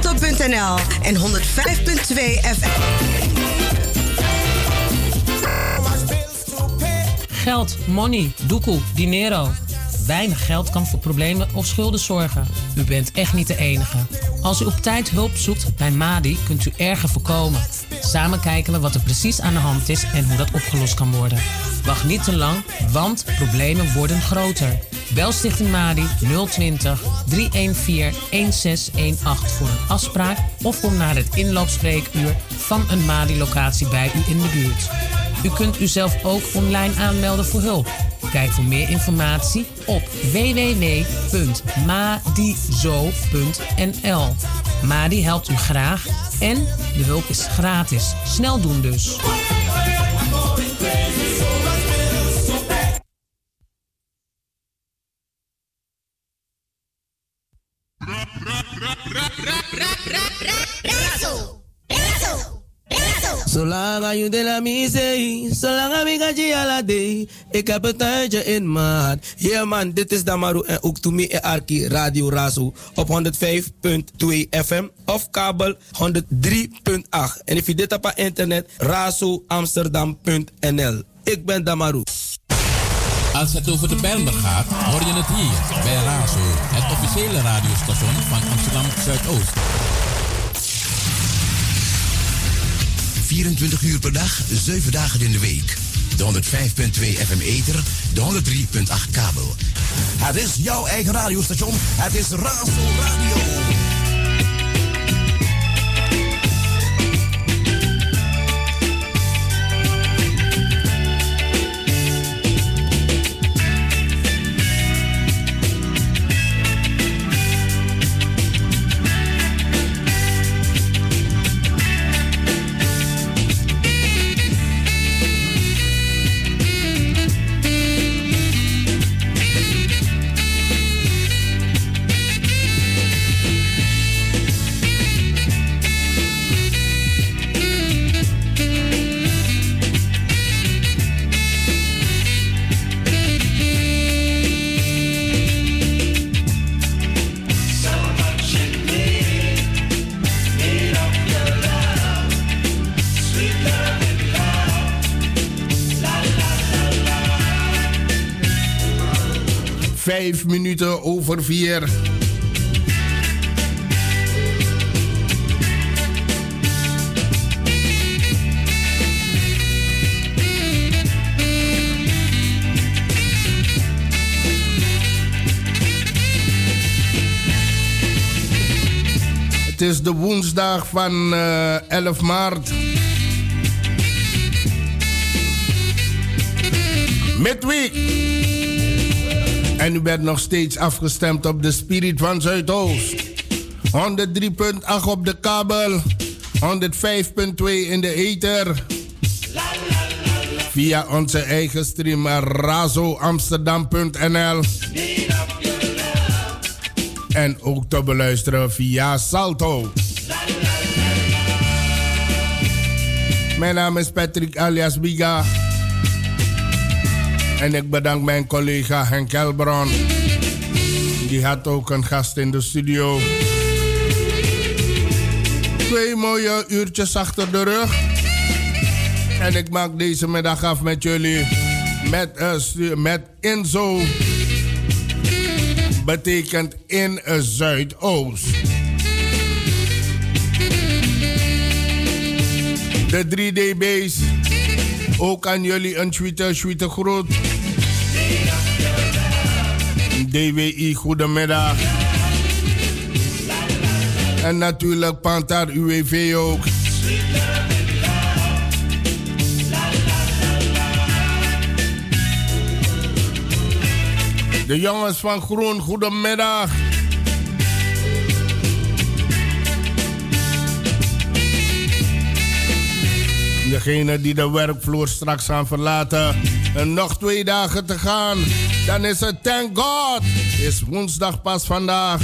razo.nl en 105.2 FM. Geld, money, doekoe, dinero. Weinig geld kan voor problemen of schulden zorgen. U bent echt niet de enige. Als u op tijd hulp zoekt bij Madi, kunt u erger voorkomen. Samen kijken we wat er precies aan de hand is en hoe dat opgelost kan worden. Wacht niet te lang, want problemen worden groter. Bel Stichting Madi 020 314 1618 voor een afspraak of kom naar het inloopspreekuur van een Madi-locatie bij u in de buurt. U kunt uzelf ook online aanmelden voor hulp. Kijk voor meer informatie op www.madizo.nl. Madi helpt u graag en de hulp is gratis. Snel doen dus. Zolang je de la misei, zolang ik ga ala day, ik heb het tijdje in maat. Yeah man, dit is Damaru en ook to me en Arki Radio Razo op 105.2 FM of kabel 103.8. En if je dit op internet, razoamsterdam.nl. Ik ben Damaru. Als het over de Bijlmer gaat, hoor je het hier bij Razo, het officiële radiostation van Amsterdam Zuidoost. 24 uur per dag, 7 dagen in de week. De 105.2 FM ether, de 103.8 kabel. Het is jouw eigen radiostation. Het is Razo Radio. Vijf minuten over 4. Het is de woensdag van 11 maart. Midweek. En u bent nog steeds afgestemd op de Spirit van Zuidoost. 103.8 op de kabel. 105.2 in de ether. Via onze eigen stream razoamsterdam.nl. En ook te beluisteren via Salto. Mijn naam is Patrick alias Biga. En ik bedank mijn collega Henk Elbron. Die had ook een gast in de studio. 2 mooie uurtjes achter de rug. En ik maak deze middag af met jullie. Met Inzo. Betekent in Zuidoost. De 3DB's. Ook aan jullie een tweede groet. DWI, goedemiddag. En natuurlijk Pantar UWV ook. De jongens van Groen, goedemiddag. Degene die de werkvloer straks gaan verlaten. En nog 2 dagen te gaan. Dan is het thank God. Is woensdag pas vandaag.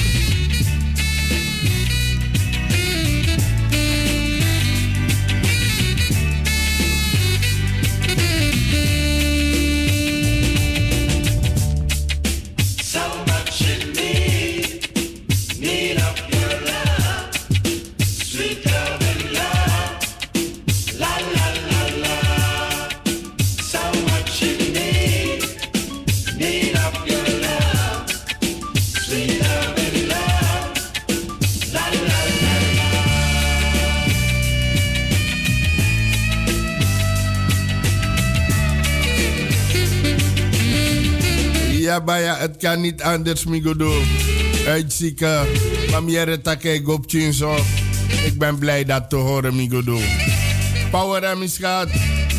Baya, het kan niet anders, Migodo. Uitzieken. Mamiere take gopchinso. Ik ben blij dat te horen, Migodo. Power en misgaat.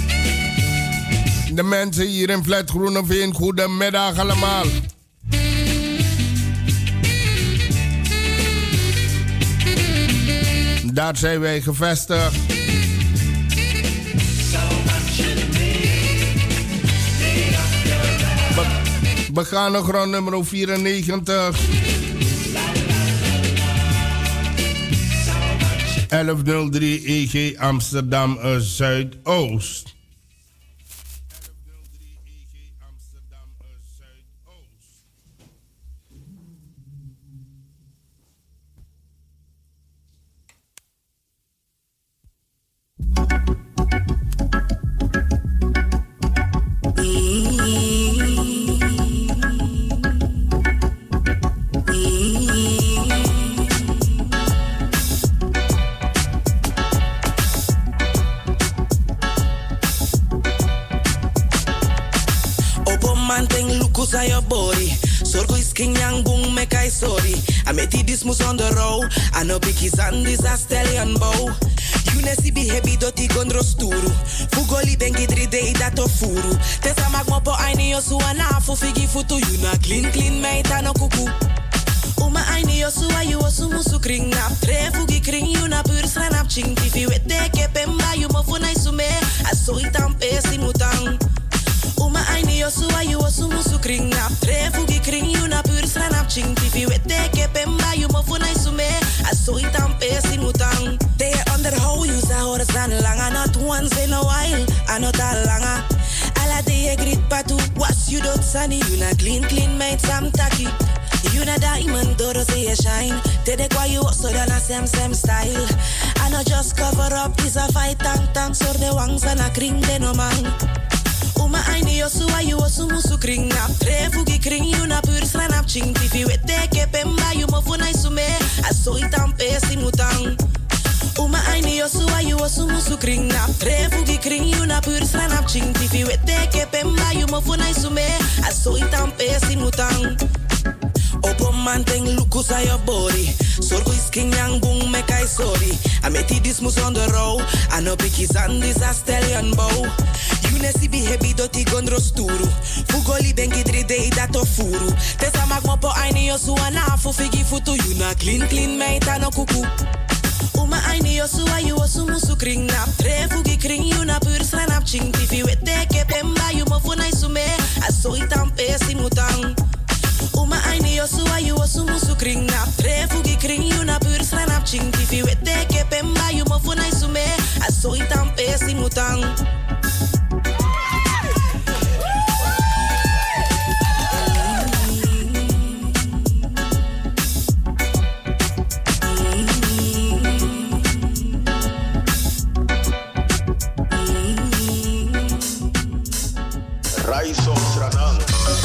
De mensen hier in Flat Groeneveen, goedemiddag allemaal. Daar zijn wij gevestigd. We gaan nog rond nummer 94. 1103 EG Amsterdam Zuidoost. Sorry, I met this mus on the road. I know biggies and this a stallion bow. You nesi be heavy doti gondro sturu. Fugoli bengi 3 day dat of furu. Tesa magmopo aini yosu anafu figi futu. You na clean meita no kuku. Uma aini yosu ayu osu musu kring nap. Tre fugi kring you na pur sranap ching. Tifi wete kepemba you mo funai sume. Aso itam pesi mutang. Uma aini yosu ayu osu musu kring nap. Tre fugi kring you na pur sranap ching. Tifi wete kepemba you mo funai sume. Aso itam pesi mutang. They underhow you sa horas dan langa. Not once in a while, not a langa. Ala de grit patu. Was you dot sunny. You na clean mate sam taki. You na diamond doro say you shine. Tede kwa you so dan a same style. I know just cover up is a fight tang so de wangs and a kring de no man. Uma aini yosu ayu osu musu kring nap. Tre fugi kring you na pur sranap ching. Tifi wete kepemba you mo funai sume. Aso itam pesi mutang. Uma aini yosu ayu osu musu kring nap. Tre fugi kring you na pur sranap ching. Tifi wete kepemba you mo funai sume. Aso itam pesi mutang. Opo manteng lukus a your body. Sorgo is king yang boom me kai sorry. I met this mus on the road. I know biggies and this a stallion bow. You nesi be heavy doti gondro sturu. Fugoli bengi 3 day dat of furu. Tesa magmopo aini yosu anafu figi futu. You na clean meita no kuku. Uma aini yosu ayu osu musu kring nap. Tre fugi kring you na pur sranap ching. Tifi wete kepemba you mo funai sume. Aso itam pesi mutang. Uma aini yosu ayu osu musu kring nap. Tre fugi kring you na pur sranap ching. Tifi wete kepemba you mo funai sume. Aso itam pesi mutang. Raiso Sranang.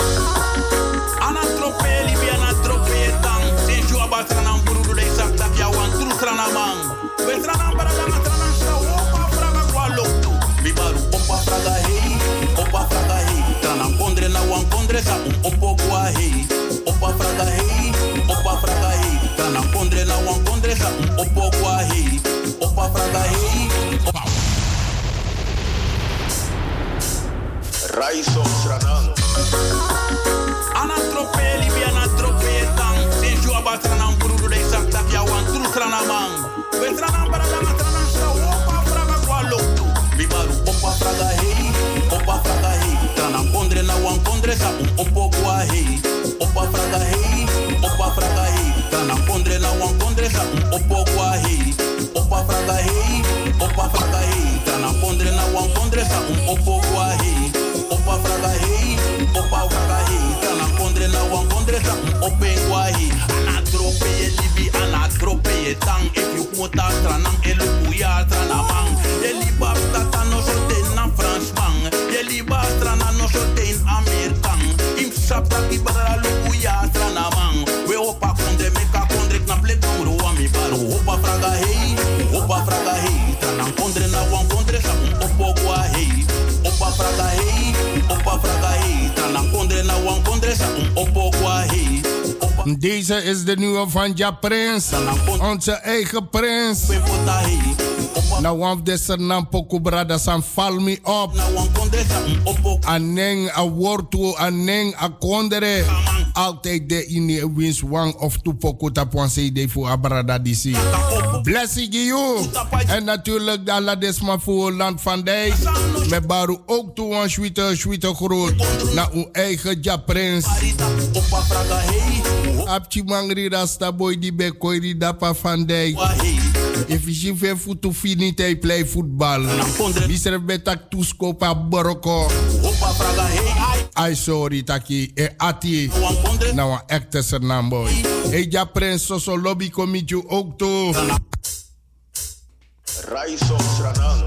Anatropeli bi anatropetang. Senju abatranang burudu de sakta ya wan tru tranamang. We tranang baraga matranang sa opa fraga kwaloktu. Bibaru opa fraga hey. Tranang kondre na wan kondre sa opo kwa hey. Opa fraga hey. Tranang kondre na wan kondre sa opo kwa hey. Opa fraga hey. Raiso Sranang. Anatropeli bi anatropetang. Senju abatranang burudu de sakta ya wan tru tranamang. We tranang baraga matranang sa opa fraga kwaloktu. Bibaru opa fraga hey. Tranang kondre na wan kondre sa opo kwa hey. Opa fraga hey. Tranang kondre na wan kondre sa opo kwa hey. Opa fraga hey. Tranang kondre na wan kondre sa opo kwa hey. Opa fraga hey. Tranang kondre na wan kondre sa open kwa hey. Anatrope ye libi anatrope ye tang. If you mota tranang elu kuya tranamang. Ye liba tata no sote na Fransman. Ye liba trana no sote in Amerikan. Im sapta ki bara lu kuya tranamang. We opa kondre meka kondre na plek nuru wa mi baro. Opa fraga hey. Tranang kondre na wan kondre sa opo kwa hey. Opa fraga hey. Tranang kondre na wan kondre sa Deze is de nieuwe van Ja Prins. Onze eigen prins. Nou, want deze naam Poku Brada san val me op. Aneng a wortu, aneng a kondere. Altijd de in wins wang of tu Poku tapuan CD voor Abrada DC. Blessing you. En natuurlijk de Aladesma voor land van Dijk. Met Baru ook toe een schwitte groot. Naar uw eigen Ja Prins. Apchi mangri rasta boy di bekoiri dapa van Dijk. If je veel voet finite play voetbal. Mister betak toeskopa boroko. Ai sorry taki e ati. Nou een echte sernam boy. E Ja Prins soso lobby committee ook toe. Raiso Sranang.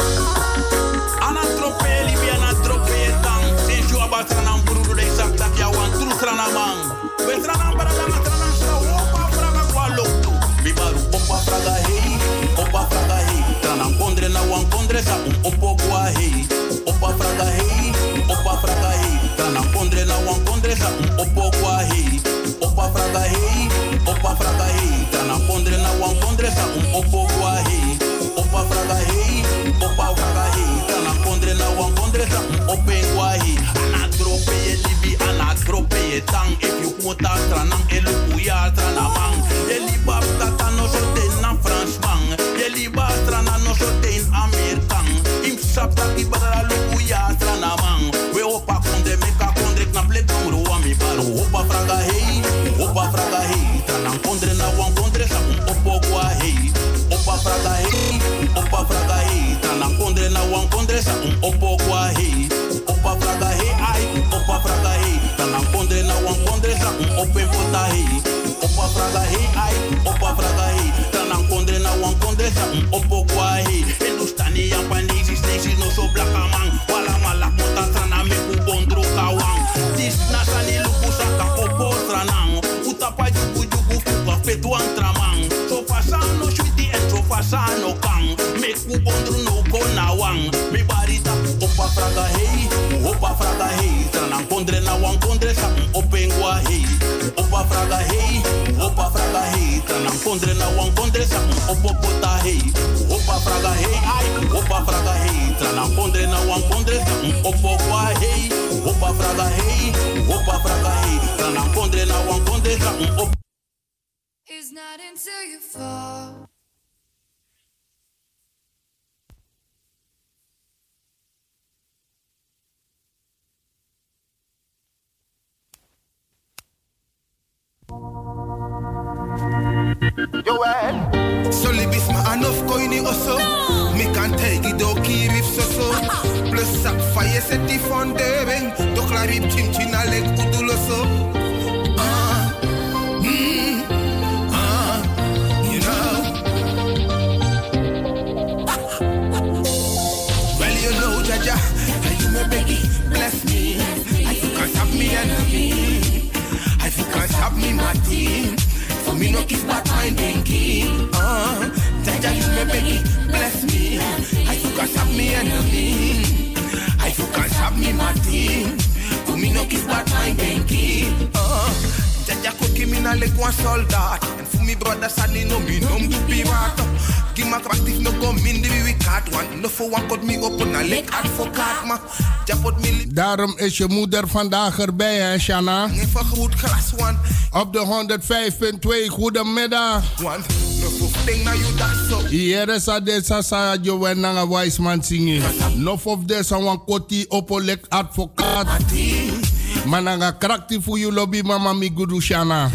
Anatropeli bi anatropeli tang. Senju abatranam buru de sakta ya wan tru sranamang. We sranam para da matranam sa opa fraga kwaloktu. Bibaru opa fraga hei, opa fraga hei. Tranam kondre na wan kondre sa opo kwa hei. Opa fraga hei, opa fraga hei. Tranam kondre na wan kondre sa opo kwa hei. Opa fraga hei, opa fraga hei. Tranam kondre na wan kondre sa opo kwa hei. Opa fraga hei, opa fraga hei. Tranam kondre na wan kondre sa opo kwa hei. Anadrope ye libi, anadrope ye tang. If you want a tranam elukuya tranamang. Ye liba tata no sote na Fransman. Ye liba trana no sote in Amerikan. Im sap taki badara lukuya tranamang. We opa konde meka kondre knap le kongro wa mi baro. Opa fraga hei, opa fraga hei. Tranam kondre na wan kondre sa opo kwa hei. Opa fraga hei, opa fraga hei. Tranam kondre na wan kondre sa opo kwa hei. Opa fraga hei, ai, opa fraga hei. Tranam kondre na wan kondre sa open pota hei. Opa fraga hei, ai, opa fraga hei. Tranam kondre na wan kondre sa opo kwa hei. Endustani Japanese snakes no so black amang. Wala mala kota trana me ku bondro kawang. Dis nasani luku saka opo tranang. Utapa jugu jugu fuka petuang tramang. So fasano shwiti and so fasano kang. Me ku bondro no konawang. Me barita opa fraga hei, opa fraga hei. Tranam kondre na wan kondre sa open kwa hei. Opa fraga hei, opa fraga hei. Tranam kondre na wan kondre sa opo pota hei. Opa fraga hei, ai, opa fraga hei. Tranam kondre na wan kondre sa opo kwa hei. Opa fraga hei, opa fraga hei. Tranam kondre na wan kondre sa opo. It's not until you fall. Yo, so libis ma anof koini oso. Me can take it do kirif so. Plus sak faye seti fondering. Do klarip chim china leg uduloso. You know. Well, you know, Jaja, you me beggy, bless me. I can't have me enemy. I can't have me my team. For me no kiss but my binky. Jaja, you me beggy, bless me. I can't have me enemy. I can't have me my team. For me no kiss but my binky. Jaja could give me na like one soldat. And for me brother sadly no me no do pirate. Give my practice no go min the we cat one. No for one could me open na like advocaat ma. Daarom is je moeder vandaag erbij, hè, Shanna? Op de 105.2, goedemiddag. Hier is deze Sajo Wenanga Wijsman zingen. Nof of deze wan koti opolek advocaat. Mananga krakti voor je lobby, mama mi gudu Shanna.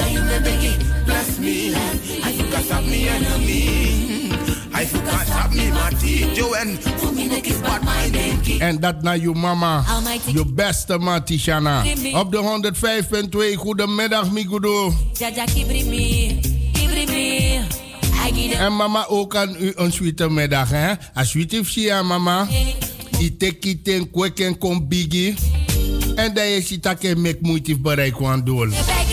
En dat naar je mama, je beste man Tishana. Op de 105.2, goedemiddag Migudo. En mama ook aan u een sweete middag, hè? Als u het ziet, mama. Iteki ten kweken kom bigi. En dat je ziet dat je met moeite bereik kan doen.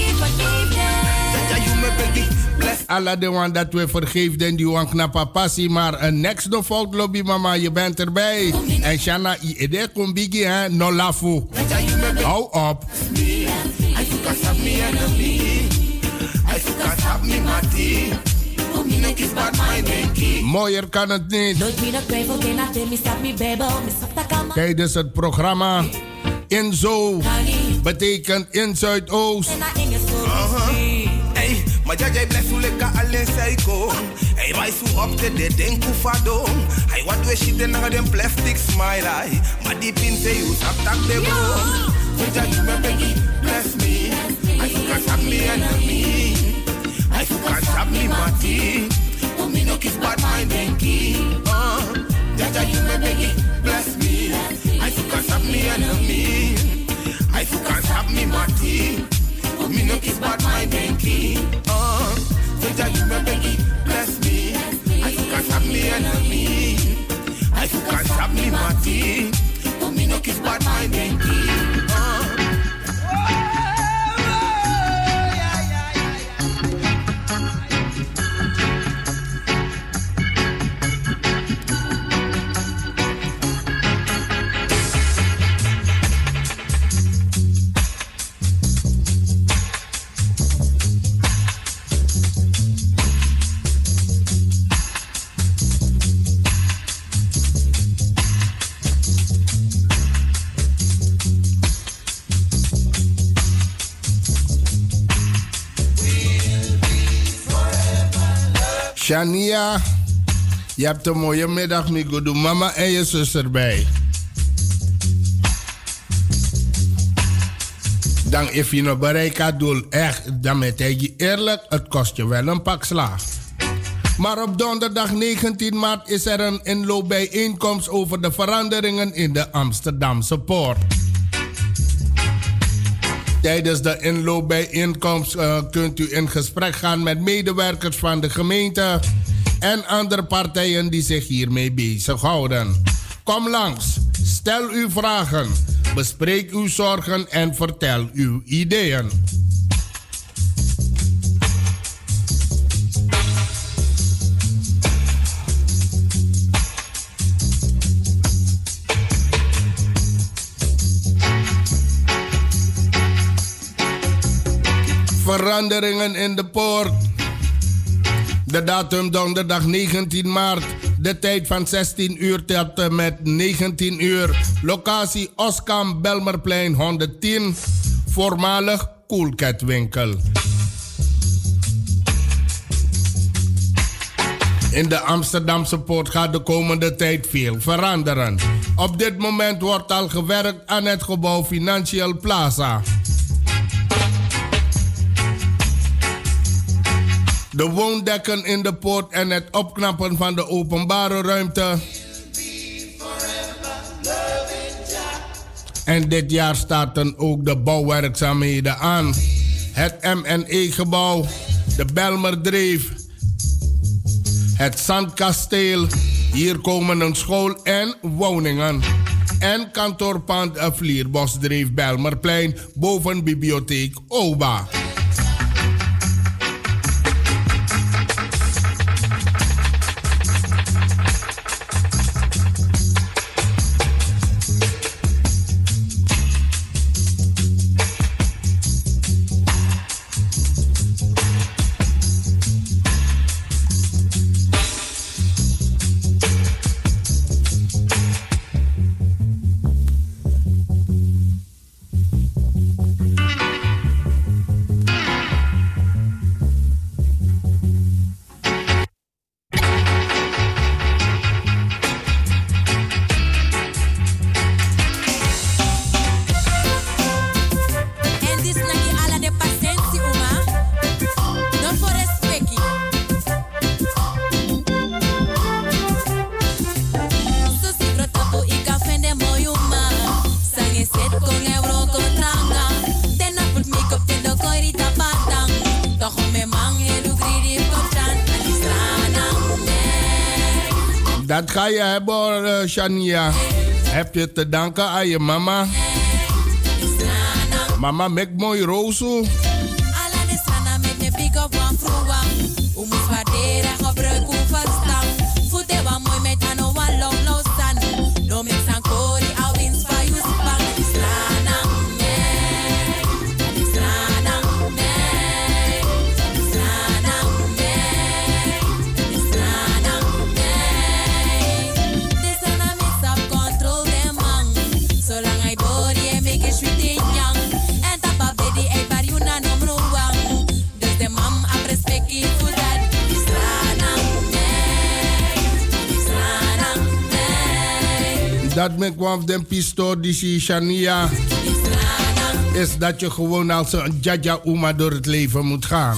Alla de one dat we vergeefden, die wan knappa passie. Maar een next no fault lobby, mama, je bent erbij. En Shanna, ide kom bigi, hè, no lafu. Hou op. I forgot have me mati. Oh, me no kiss bad mind denki. Mooier kan het niet. Tijdens het programma Inzo betekent in Zuidoost. Hey, maar jij blijft zo lekker alleen psycho. Hey, wij zo op de denku fado. Hey, wat we shit en den plastic smile. Hey, maar die pin say you attack the bone. So just give me Becky, bless me. I forgot have me enemy. I forgot have me mati. Oh, me no kiss bad mind denki. Just give me Becky, bless me. I forgot have me enemy. I forgot have me mati. Me no kiss bad my denki. So just give me Becky, bless me. I forgot have me enemy. I forgot have me mati. Me no kiss bad my denki. Shania, je hebt een mooie middag, Migo. Doe mama en je zus erbij. Dan if je nog bereik had doel, echt, dan met je eerlijk, het kost je wel een pak slaag. Maar op donderdag 19 maart is er een inloopbijeenkomst over de veranderingen in de Amsterdamse Poort. Tijdens de inloopbijeenkomst kunt u in gesprek gaan met medewerkers van de gemeente en andere partijen die zich hiermee bezighouden. Kom langs, stel uw vragen, bespreek uw zorgen en vertel uw ideeën. Veranderingen in de poort. De datum donderdag 19 maart. De tijd van 16 uur tot en met 19 uur. Locatie Oskam Belmerplein 110. Voormalig Coolcat winkel. In de Amsterdamse poort gaat de komende tijd veel veranderen. Op dit moment wordt al gewerkt aan het gebouw Financial Plaza. De woondekken in de poort en het opknappen van de openbare ruimte. En dit jaar starten ook de bouwwerkzaamheden aan. Het MNE-gebouw, de Belmerdreef, het Zandkasteel. Hier komen een school en woningen. En kantoorpand Vlierbosdreef Belmerplein boven bibliotheek OBA. Dat ga je hebben, Shania. Heb je te danken aan je mama. Mama, mek mooi rozo. Dat me kwam den pistool die Shania. Is dat je gewoon als een Jaja Uma door het leven moet gaan.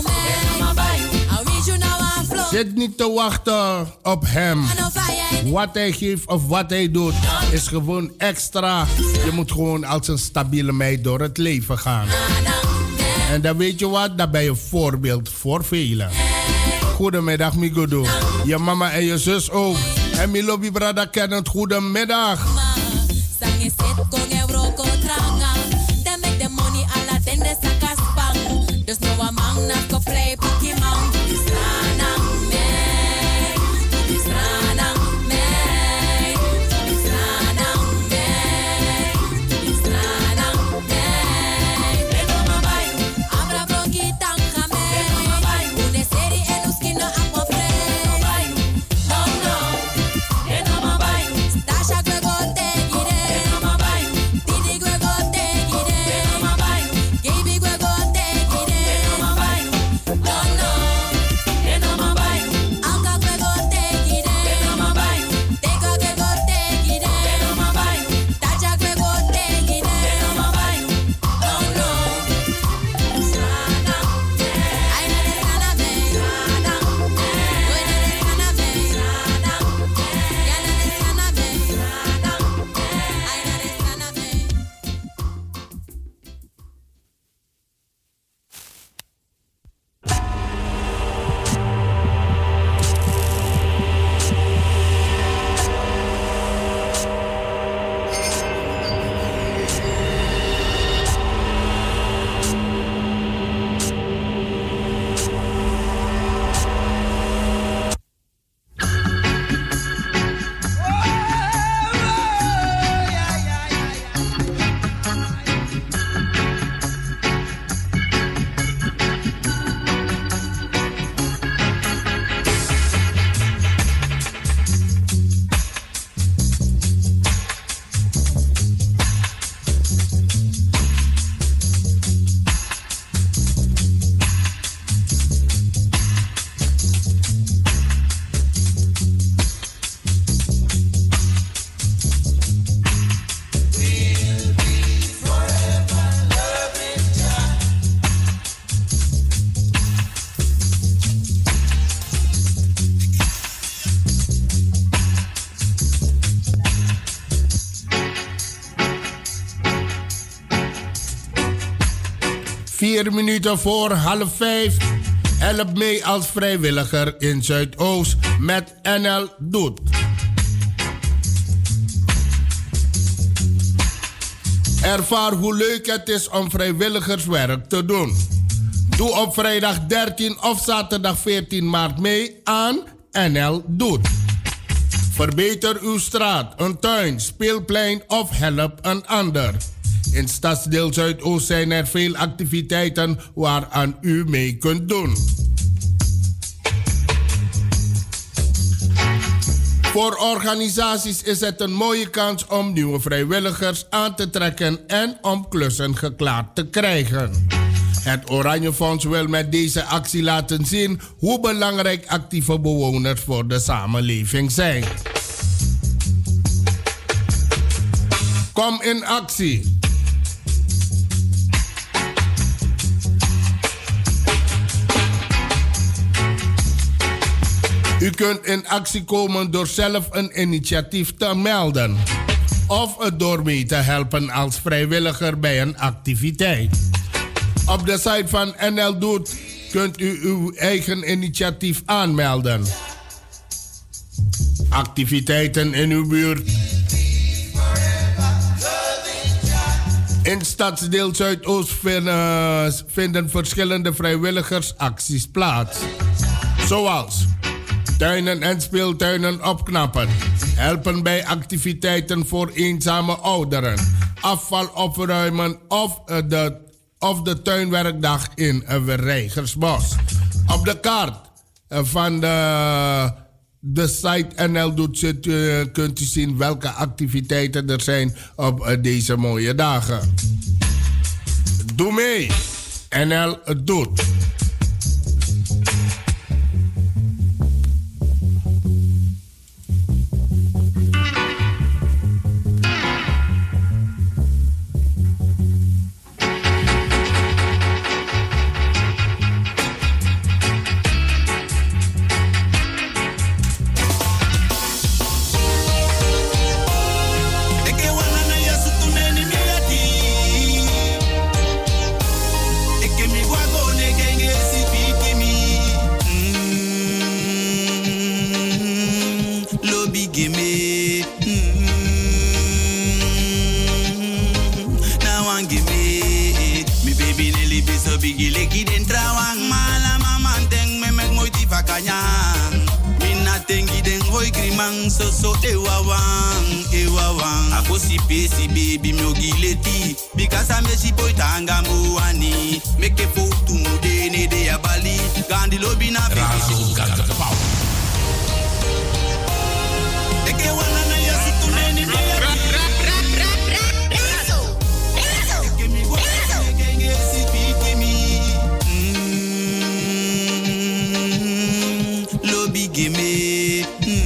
Zit niet te wachten op hem. Wat hij geeft of wat hij doet is gewoon extra. Je moet gewoon als een stabiele meid door het leven gaan. En dan weet je wat, dan ben je voorbeeld voor velen. Goedemiddag, Migodo. Je mama en je zus ook. En mijn lobby brada kennen het. Goedemiddag. Dus no one man not go play Pokemon. This rana me, this rana me, this rana me, this rana me. Eno mabai, abra broki tanga me. Eno mabai, une serie en uskino aqua frey. No no, eno mabai, stasha gwego te gire. Eno mabai, didi gwego te gire. Eno mabai, gaby gwego te gire. Vier minuten voor 4:30. Help mee als vrijwilliger in Zuidoost met NL Doet. Ervaar hoe leuk het is om vrijwilligerswerk te doen. Doe op vrijdag 13 of zaterdag 14 maart mee aan NL Doet. Verbeter uw straat, een tuin, speelplein of help een ander. In Stadsdeel Zuidoost zijn er veel activiteiten waaraan u mee kunt doen. Voor organisaties is het een mooie kans om nieuwe vrijwilligers aan te trekken en om klussen geklaard te krijgen. Het Oranje Fonds wil met deze actie laten zien hoe belangrijk actieve bewoners voor de samenleving zijn. Kom in actie. U kunt in actie komen door zelf een initiatief te melden of het door mee te helpen als vrijwilliger bij een activiteit. Op de site van NL Doet kunt u uw eigen initiatief aanmelden. Activiteiten in uw buurt. In Stadsdeel Zuidoost vinden verschillende vrijwilligersacties plaats. Zoals tuinen en speeltuinen opknappen. Helpen bij activiteiten voor eenzame ouderen. Afval opruimen of de tuinwerkdag in Reigersbos. Op de kaart van de site NL Doet kunt u zien welke activiteiten er zijn op deze mooie dagen. Doe mee. NL Doet. hoi grimang so ewawang. Ako si pesi baby mi ogileti. Because I'm a si boy tanga muani. Make a photo mude ne de abali. Gandhi lobby na Razo got the power. Eke wana na yasi tuneni me gimme,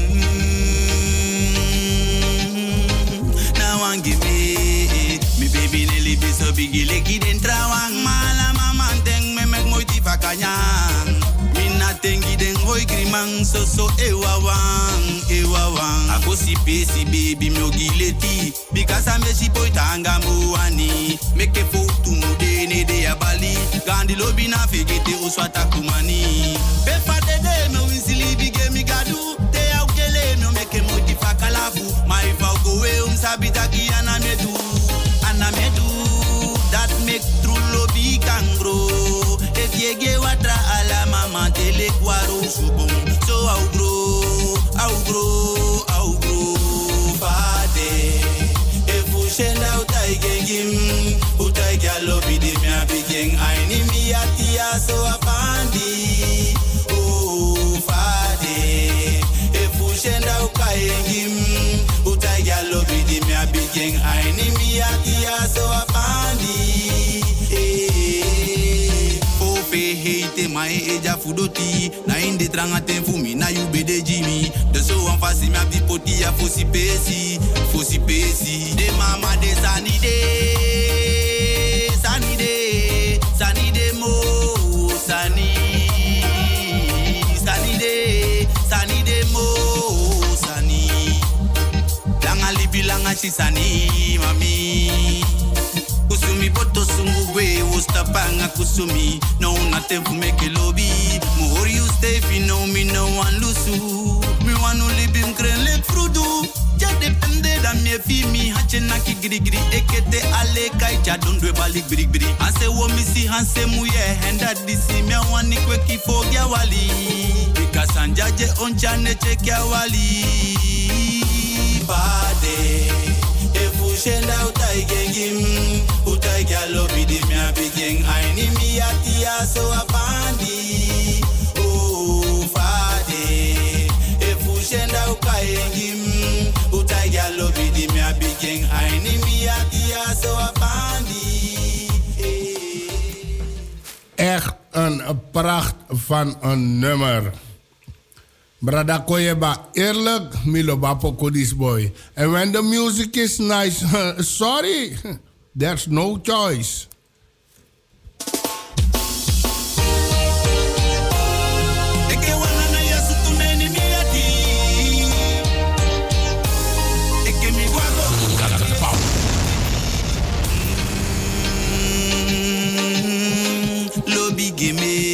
now one gimme. Me baby Nelly be so big, leki dentro wang mala mama teng me mek moi tifa kanyang. Me na tengi den hoi grimang so ewawang. Ako si pesi baby me ogileti, because I'm a si boy tanga muani. Make a photo mude ne de abali, gandhi lobby na fegete uswata kumani. Pepa de me winsili bige mi gadu, te au kele no make mo di fakalafu. My vow go we sabita ki anamedu, that make true lobby can grow. If ye ge watra ala mama tele kwaro subong, so au grow. Fade, if u shenda utai gengim, utai galobi de mi abigeng, aini mi atia so apandi. Shenda ukayengim utai galobi di mi abigeng aini mi atia so apandi Ope hate mai eja fudoti na inde tranga tenfumi na yube de jimi de so an fasi mi abdi poti ya fosi pesi de mama de sanide mo sanide mo bilanga shisani mami kusumi boto sungwe ustapanga kusumi no nothing for make lobby more you stay if you know me no one lusu me want to live in green lake frudu ja depende da me fi mi hachena ki grigri ekete ale kai ja dondwe balik grigri ase wo misi hanse muye henda disi me wani kweki fogya wali because anjaje onchane chekia wali Bade, if u shenda utai gengim, utai galobi di mi abigeng, aini mi atia so apandi. Oh, Fade, if u shenda utai gengim, utai galobi di mi abigeng, aini mi atia so apandi. Echt een pracht van een nummer. Brada Koyeba, eerlijk, Milo Bapoko this boy. And when the music is nice, sorry, there's no choice. Lobby gimme.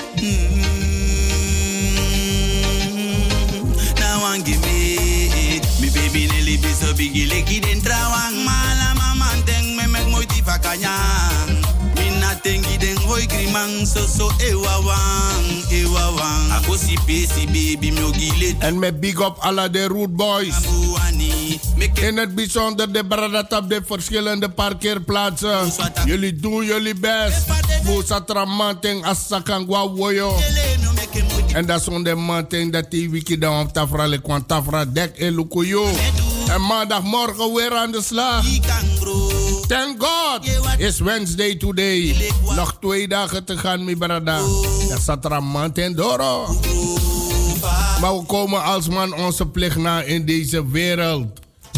So bigi leki dentro wang mala mama teng me mek moi tifa kanyang mina tengi den hoi grimang so ewawang ako si pesi baby mi ogile en me big up alla de root boys in het bijzonder de bradat op de verschillende parkeerplaatsen. Jullie doen jullie best. Boesatra manteng asakangwa woyo. En dat is onder manteng dat die wiki dan op tafra le kwant tafra dek elukuyo. En maandagmorgen weer aan de slag. Thank God, it's Wednesday today. Nog 2 dagen te gaan, mi brada. Dat staat er manteng doro. Maar we komen als man onze plicht na in deze wereld.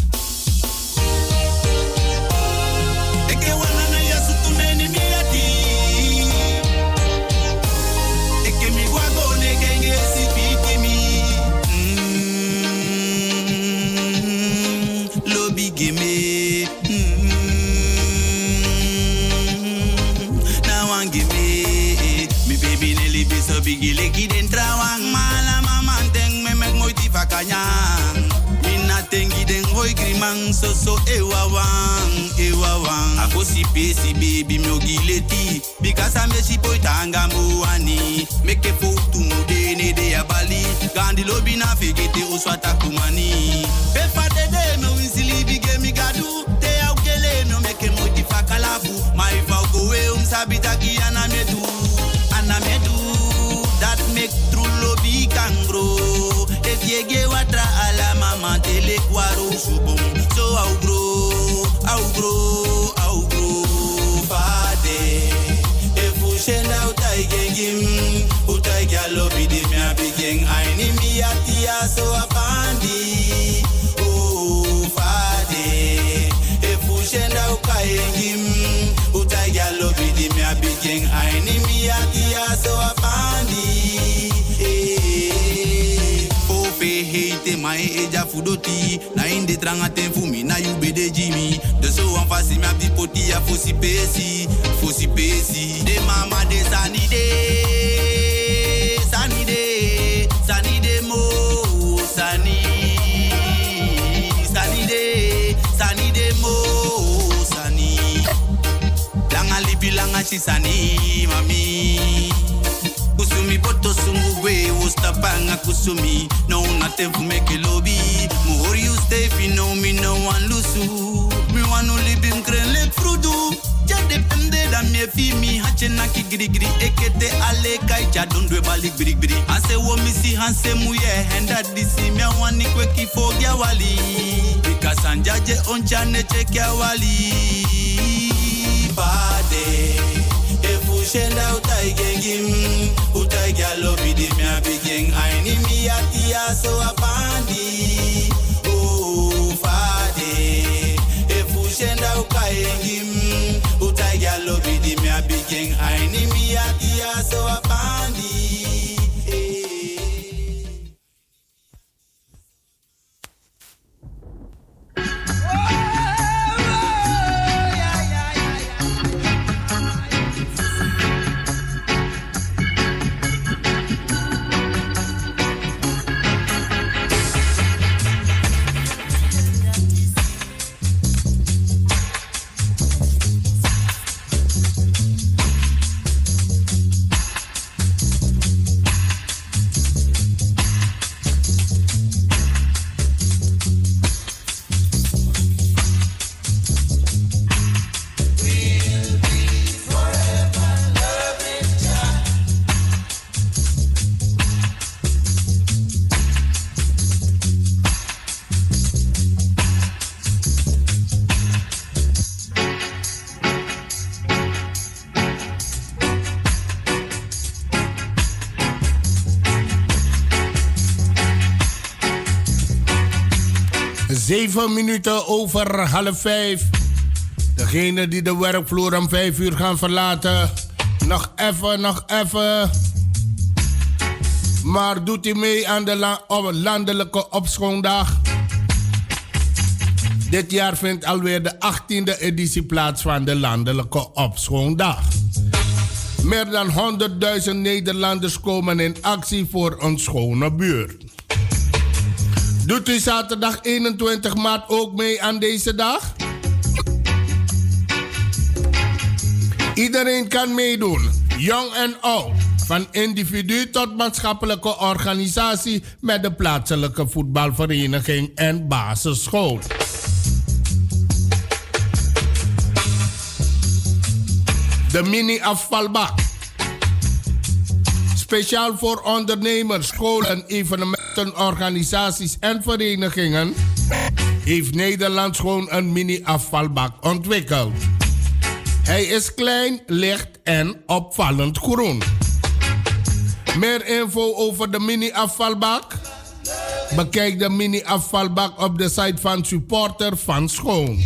Bigi leki dentro wang mala mama teng me mek moi tifa kanyang mina tengi den boy grimang so ewa wang. A fosi pesi baby mi ogileti. Because I'm a boy tanga muani. Make a photo mudene de abali. Gandhi lobi na figete uswata kumani. Pepa de me winsili bige mi gadu. Te aukele no make moti fakalabu. My go we sabitaki anamedu. That make true lobby can grow. If you get water ala mama tele kwaro subom. So I'll grow. Fade. If you send out I gengim. Utai galobi de me a begin. I need me atia so a bandi. Oh fade. If you send out I gengim. Utai galobi de me a begin. I need me atia so a bandi. Hate my age fudoti na inde tranga ten fumi na you be de Jimmy de so wan fasi me abdi poti a fosi pesi de mama de sanide mo sanide mo sani langa libi langa chisani mami kusumi poto sungwe ustapanga kusumi no nothing for make it lobby more you stay fi no me no one lusu me want only bim kren lek frudu ja depende da me fi mi hache na ki grigri ekete ale kai cha dondwe balik grigri ase wo mi si hanse muye henda disi me wani kweki fogya wali because anjaje oncha ne chekya wali bade Shenda utai gengim, utai galobi de me a begin. I need me atia so a bandi. Oh fade, if you shenda utai gengim, utai galobi de me a begin. I need me atia so a bandi. Zeven minuten over 4:30. Degene die de werkvloer om 5 uur gaan verlaten. Nog even. Maar doet u mee aan de landelijke opschoondag? Dit jaar vindt alweer de 18e editie plaats van de landelijke opschoondag. Meer dan 100.000 Nederlanders komen in actie voor een schone buurt. Doet u zaterdag 21 maart ook mee aan deze dag? Iedereen kan meedoen, jong en oud. Van individu tot maatschappelijke organisatie met de plaatselijke voetbalvereniging en basisschool. De mini-afvalbak. Speciaal voor ondernemers, scholen, evenementenorganisaties en verenigingen heeft Nederland gewoon een mini-afvalbak ontwikkeld. Hij is klein, licht en opvallend groen. Meer info over de mini-afvalbak? Bekijk de mini-afvalbak op de site van Supporter van Schoon.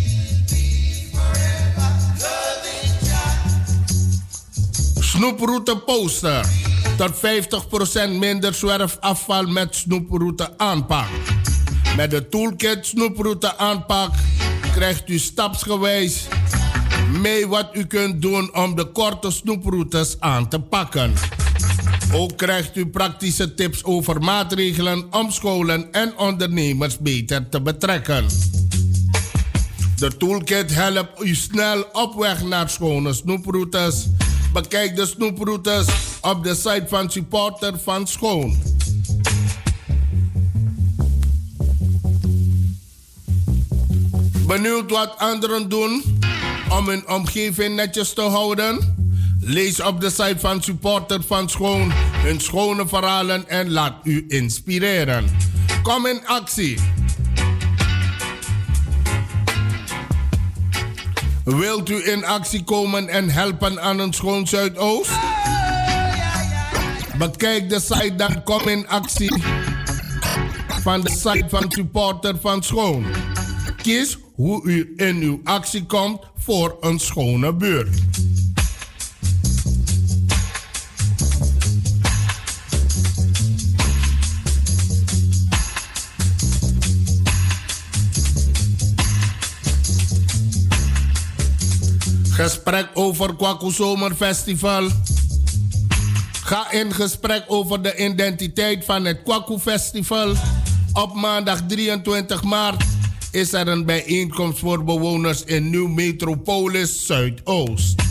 Snoeproute poster. Tot 50% minder zwerfafval met snoeproute aanpak. Met de toolkit snoeproute aanpak krijgt u stapsgewijs mee wat u kunt doen om de korte snoeproutes aan te pakken. Ook krijgt u praktische tips over maatregelen om scholen en ondernemers beter te betrekken. De toolkit helpt u snel op weg naar schone snoeproutes. Bekijk de snoeproutes op de site van Supporter van Schoon. Benieuwd wat anderen doen om hun omgeving netjes te houden? Lees op de site van Supporter van Schoon hun schone verhalen en laat u inspireren. Kom in actie. Wilt u in actie komen en helpen aan een schoon Zuidoost? Bekijk de site dan Kom in actie van de site van Supporter van Schoon. Kies hoe u in uw actie komt voor een schone buurt. Gesprek over Kwaku Zomerfestival. Ga in gesprek over de identiteit van het Kwaku Festival. Op maandag 23 maart is er een bijeenkomst voor bewoners in Nieuw Metropolis Zuidoost.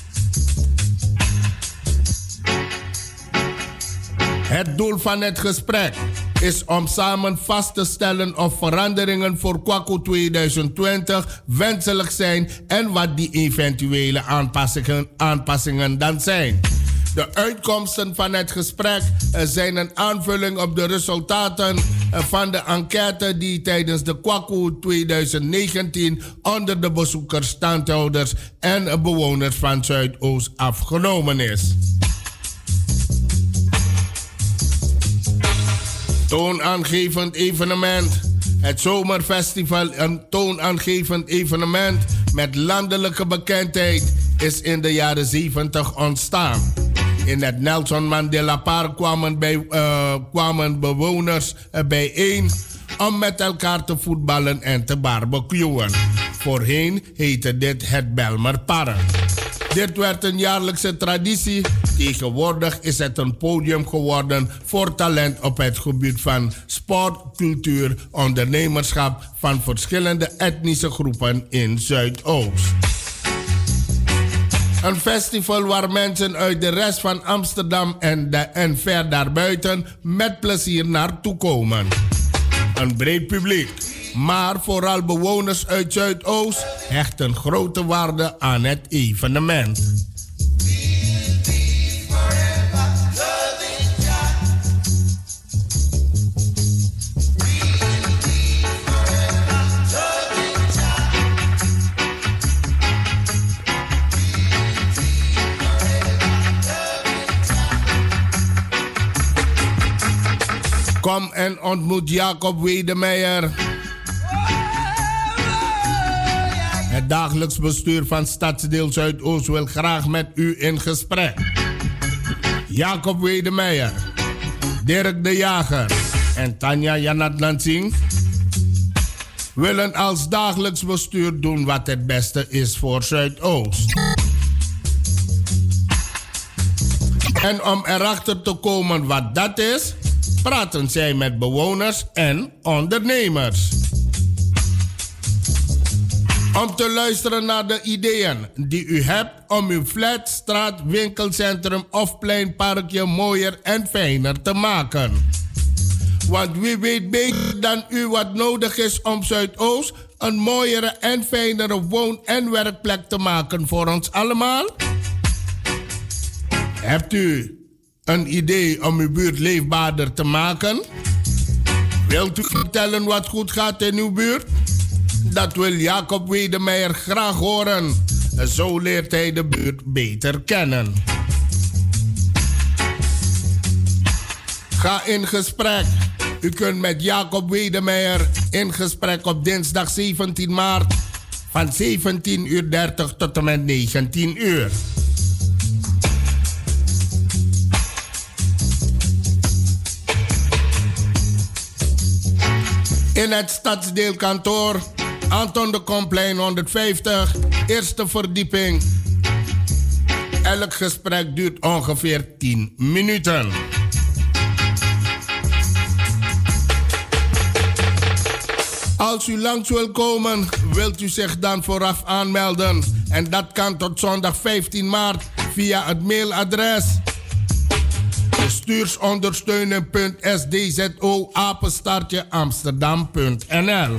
Het doel van het gesprek is om samen vast te stellen of veranderingen voor Kwaku 2020 wenselijk zijn en wat die eventuele aanpassingen dan zijn. De uitkomsten van het gesprek zijn een aanvulling op de resultaten van de enquête die tijdens de Kwaku 2019 onder de bezoekers, standhouders en bewoners van Zuidoost afgenomen is. Toonaangevend evenement. Het Zomerfestival, een toonaangevend evenement met landelijke bekendheid, is in de jaren 70 ontstaan. In het Nelson Mandela Park kwamen bewoners bijeen om met elkaar te voetballen en te barbecuen. Voorheen heette dit het Belmerpark. Dit werd een jaarlijkse traditie. Tegenwoordig is het een podium geworden voor talent op het gebied van sport, cultuur, ondernemerschap van verschillende etnische groepen in Zuidoost. Een festival waar mensen uit de rest van Amsterdam en ver daarbuiten met plezier naartoe komen. Een breed publiek, maar vooral bewoners uit Zuidoost hechten grote waarde aan het evenement. Kom en ontmoet Jacob Wedemeijer. Het dagelijks bestuur van Stadsdeel Zuidoost wil graag met u in gesprek. Jacob Wedemeijer, Dirk de Jager en Tanja Janat Lansing willen als dagelijks bestuur doen wat het beste is voor Zuidoost. En om erachter te komen wat dat is, praten zij met bewoners en ondernemers. Om te luisteren naar de ideeën die u hebt om uw flat, straat, winkelcentrum of plein, parkje mooier en fijner te maken. Want wie weet beter dan u wat nodig is om Zuidoost een mooiere en fijnere woon- en werkplek te maken voor ons allemaal? Hebt u een idee om uw buurt leefbaarder te maken? Wilt u vertellen wat goed gaat in uw buurt? Dat wil Jacob Wedemeijer graag horen. Zo leert hij de buurt beter kennen. Ga in gesprek. U kunt met Jacob Wedemeijer in gesprek op dinsdag 17 maart van 17:30 tot en met 19 uur. In het stadsdeelkantoor Anton de Komplein 150, eerste verdieping. Elk gesprek duurt ongeveer 10 minuten. Als u langs wil komen, wilt u zich dan vooraf aanmelden. En dat kan tot zondag 15 maart via het mailadres bestuursondersteunen.sdzo@amsterdam.nl.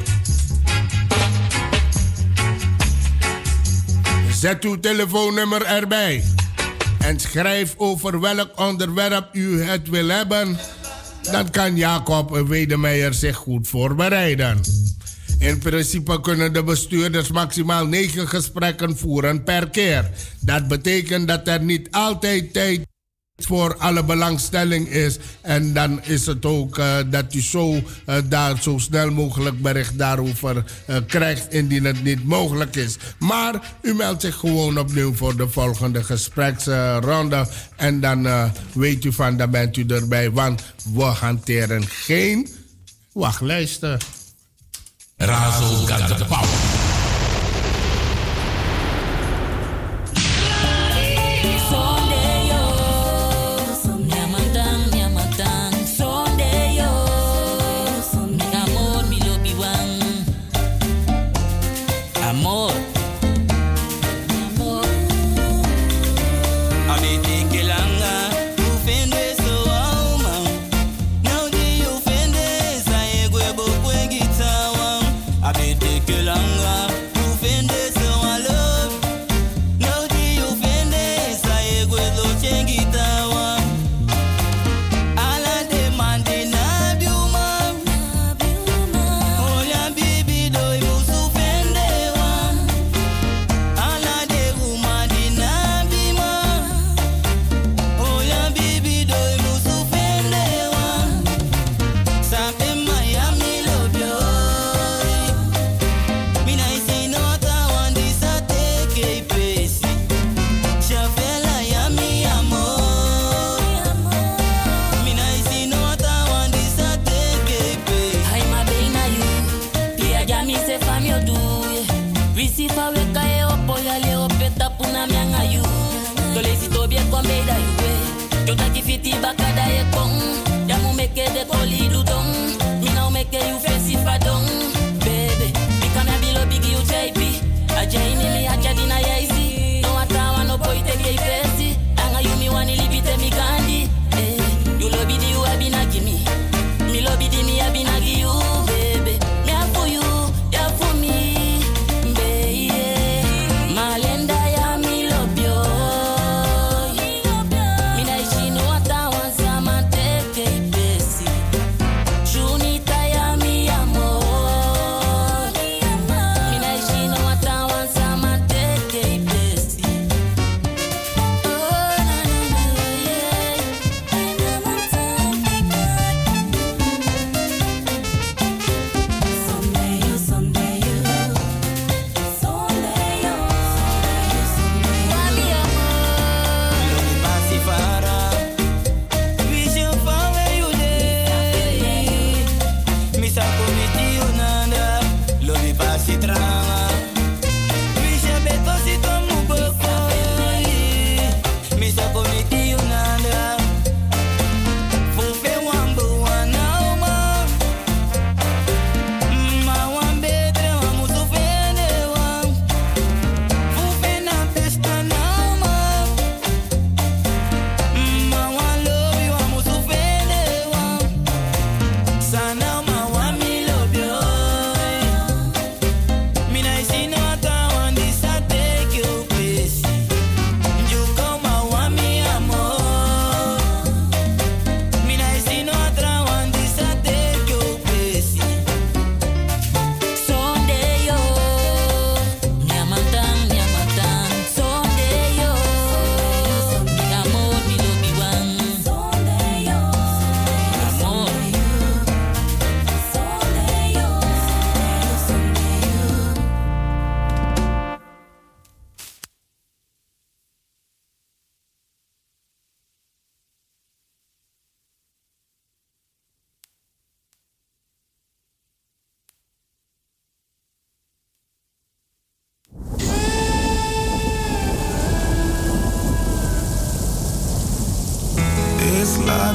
Zet uw telefoonnummer erbij en schrijf over welk onderwerp u het wil hebben. Dan kan Jacob Wedemeijer zich goed voorbereiden. In principe kunnen de bestuurders maximaal 9 gesprekken voeren per keer. Dat betekent dat er niet altijd tijd voor alle belangstelling is. En dan is het ook dat u daar zo snel mogelijk bericht daarover krijgt indien het niet mogelijk is. Maar u meldt zich gewoon opnieuw voor de volgende gespreksronde. En dan weet u van, dan bent u erbij. Want we hanteren geen wachtlijsten. Razo got the power. Take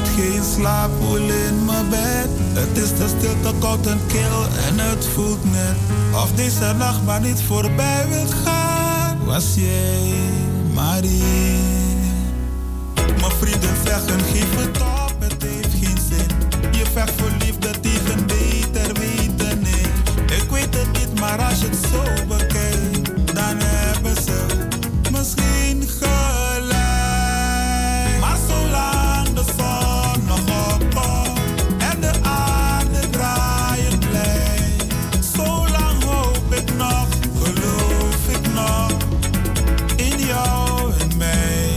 geen slaappoel in mijn bed. Het is te stil, te koud en kil en het voelt net of deze nacht maar niet voorbij wil gaan. Was jij maar hier? Mijn vrienden zeggen geef het op, het heeft geen zin. Je vecht voor liefde tegen beter weten, nee. Ik weet het niet, maar als je het zo bekijkt, dan hebben ze misschien gelijk. Maar zolang de zon nog opkomt en de aarde draaien blijft, zolang hoop ik nog, geloof ik nog in jou en mij.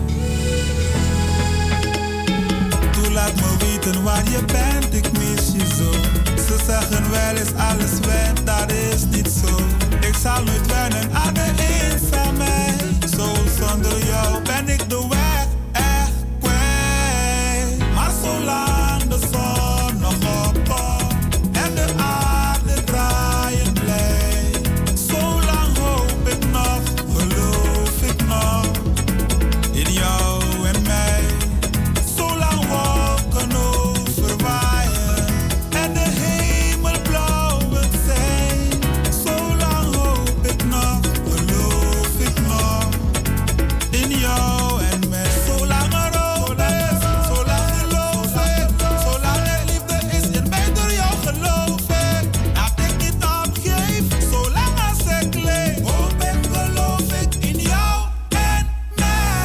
Toe laat me weten waar je bent, ik mis je zo. Ze zeggen wel eens alles went, dat is niet zo. Ik zal nooit wennen aan de eenzaamheid. Zo zonder jou ben ik de weg echt kwijt. Maar zolang de zon nog opkomt en de aarde draaien blijft, zolang hoop ik nog, geloof ik nog in jou en mij. Zolang wolken overwaaien en de hemel blauw wil zijn, zolang hoop ik nog, geloof ik nog in jou en mij. Zolang er hoop is, zolang geloof ik, zolang er liefde is in mij door jou geloof ik, dat ik niet opgeef, zolang als ik leef, hoop ik, geloof ik in jou en mij.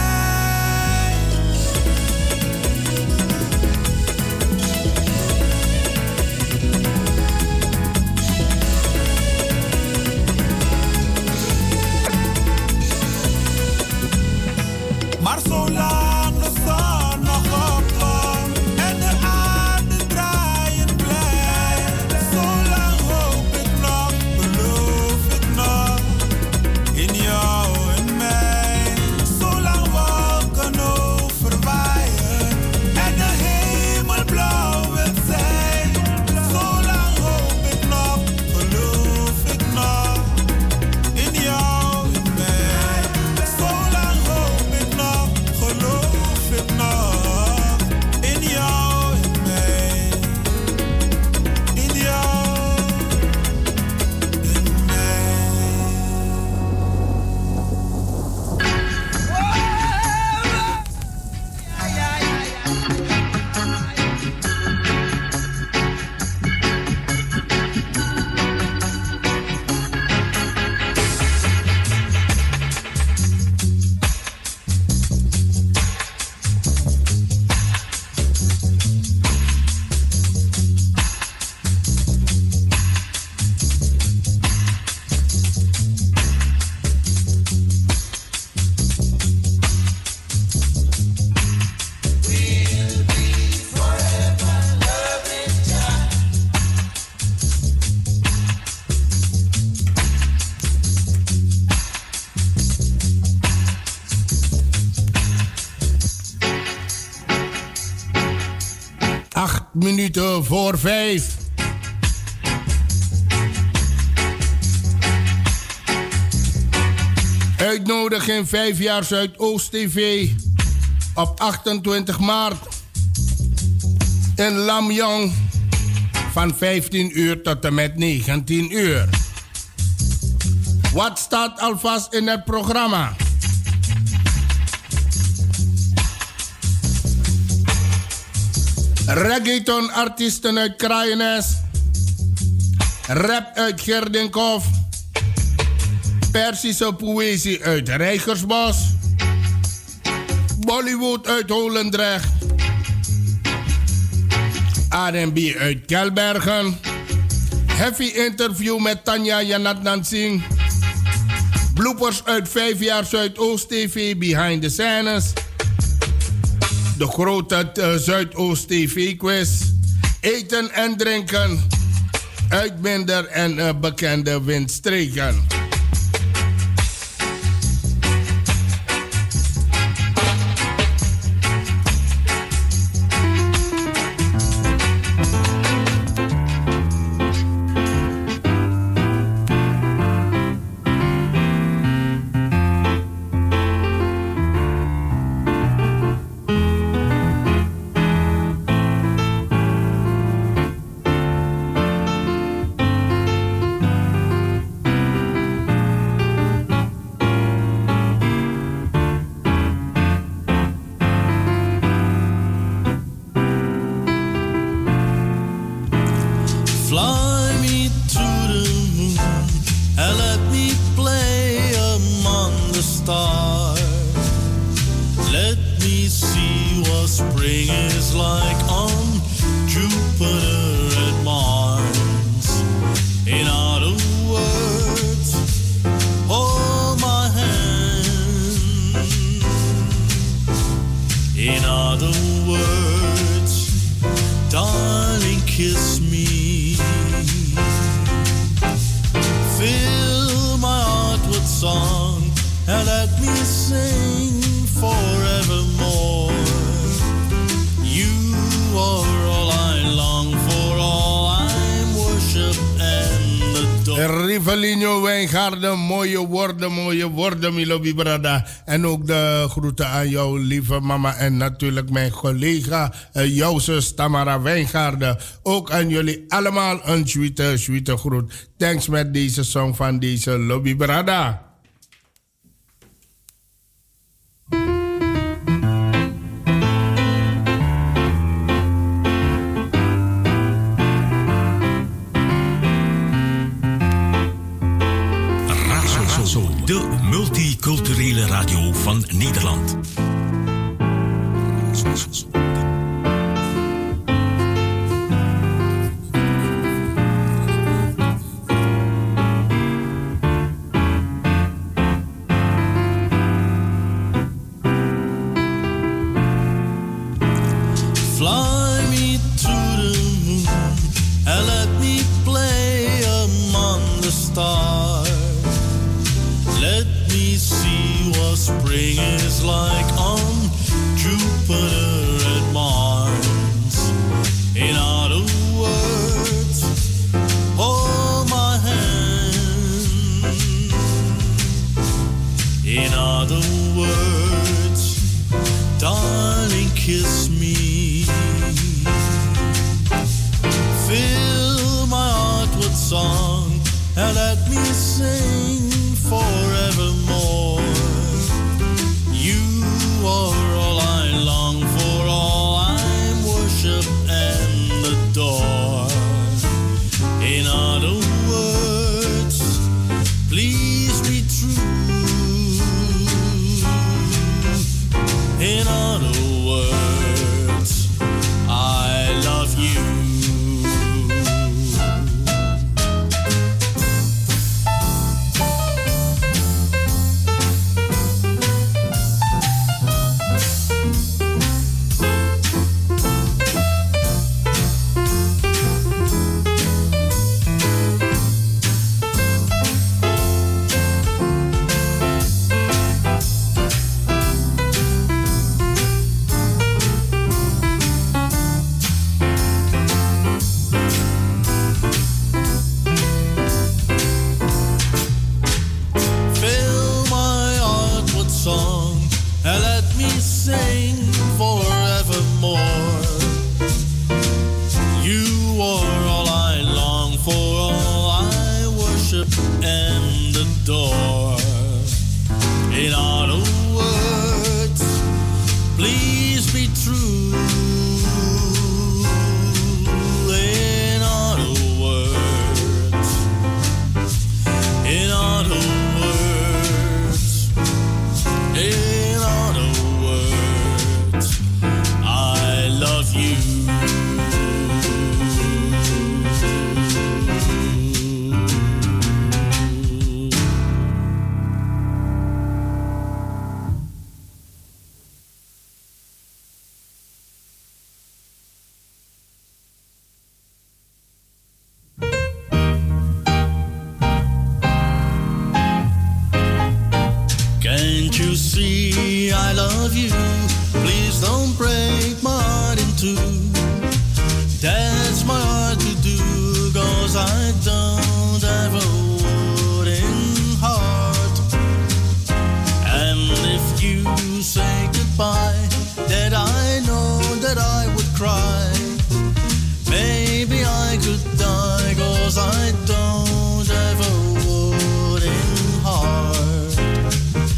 Maar zolang de zon nog opkomt en de aarde draaien blijft, zolang hoop ik nog, geloof ik nog in jou en mij. Zolang wolken overwaaien en de hemel blauw wil zijn, zolang hoop ik nog, geloof ik nog in jou en mij. Zolang hoop ik nog, geloof ik nog in jou en mij. In jou en mij. 8 minuten voor 5. Uitnodiging 5 jaar Zuidoost TV op 28 maart in Lamjong van 15 uur tot en met 19 uur. Wat staat alvast in het programma? Reggaeton-artiesten uit Kraaienest, rap uit Gerdinghof, Persische poëzie uit Rijgersbos, Bollywood uit Holendrecht, R&B uit Kelbergen, heavy interview met Tanya Janatnan Singh, bloopers uit 5 jaar Zuidoost TV Behind the Scenes, de grote Zuidoost TV quiz, eten en drinken, uitminder en bekende windstreken. Fly me to the moon and let me play among the stars. Let me see what spring is like on Jupiter and Mars. In other words, hold my hand. In other words, darling, kiss me. Fill my heart with song and let me sing forevermore. You are all I long for, all I worship and adore. Rivelino Wijngaarden, mooie woorden, Milo Bibrada. En ook de groeten aan jouw lieve mama en natuurlijk mijn collega, jouw zus Tamara Wijngaarden. Ook aan jullie allemaal een sweete groet. Thanks met deze song van deze Lobby Brada. De multiculturele radio van Nederland. Fly me to the moon and let me play among the stars. Let me see what spring is like on Jupiter and Mars. In other words, hold my hand. In other words, darling, kiss me. Fill my heart with song and let me sing forevermore. You are all I long for, all I worship and adore. In other words, please be true. In other words, I love you.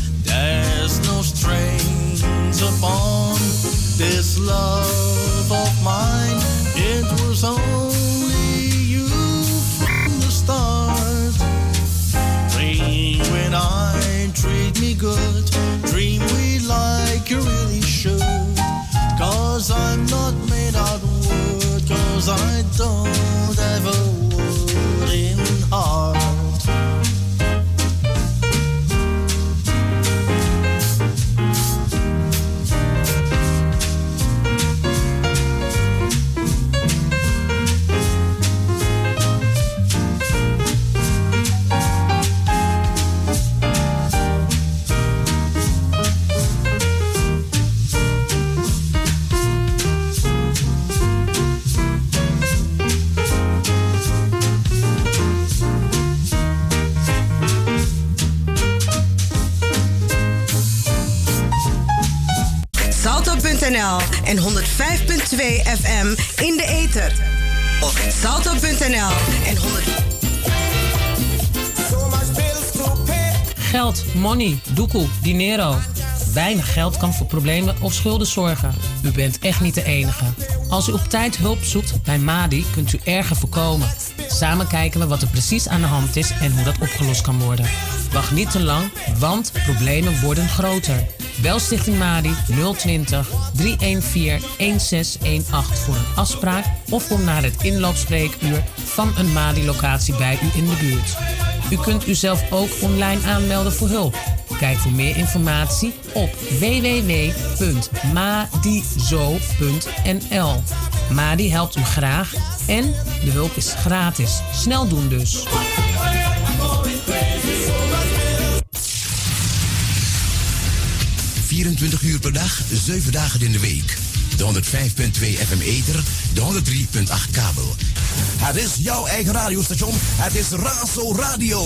This love of salto.nl en 105.2 FM in de ether. Of salto.nl en 100. Geld, money, doekoe, dinero. Weinig geld kan voor problemen of schulden zorgen. U bent echt niet de enige. Als u op tijd hulp zoekt bij Madi, kunt u erger voorkomen. Samen kijken we wat er precies aan de hand is en hoe dat opgelost kan worden. Wacht niet te lang, want problemen worden groter. Bel Stichting Madi 020 314 1618 voor een afspraak of kom naar het inloopspreekuur van een Madi-locatie bij u in de buurt. U kunt uzelf ook online aanmelden voor hulp. Kijk voor meer informatie op www.madizo.nl. Madi helpt u graag en de hulp is gratis. Snel doen dus. ...24 uur per dag, 7 dagen in de week. De 105.2 FM ether, de 103.8 kabel. Het is jouw eigen radiostation. Het is Razo Radio.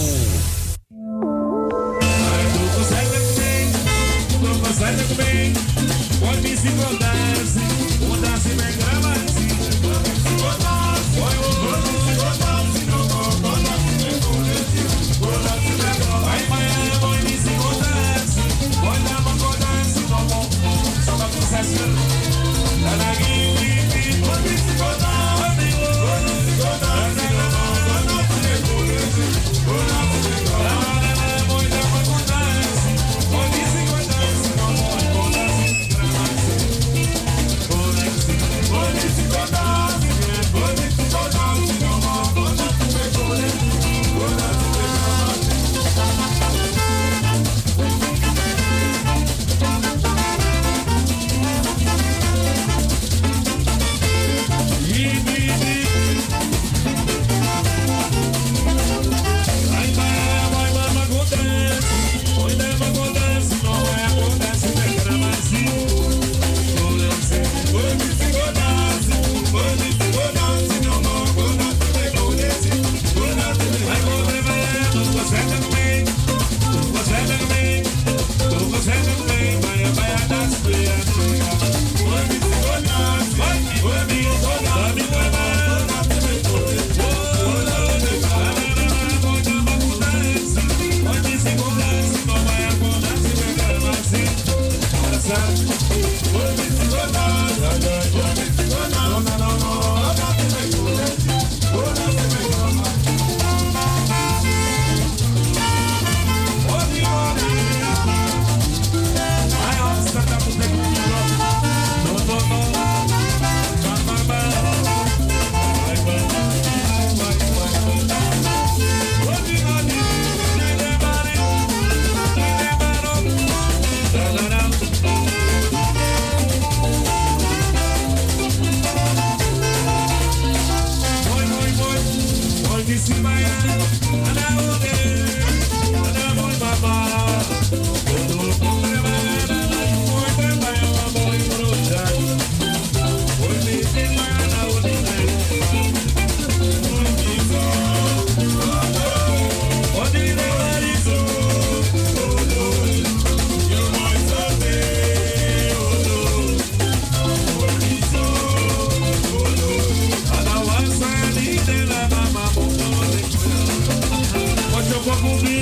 What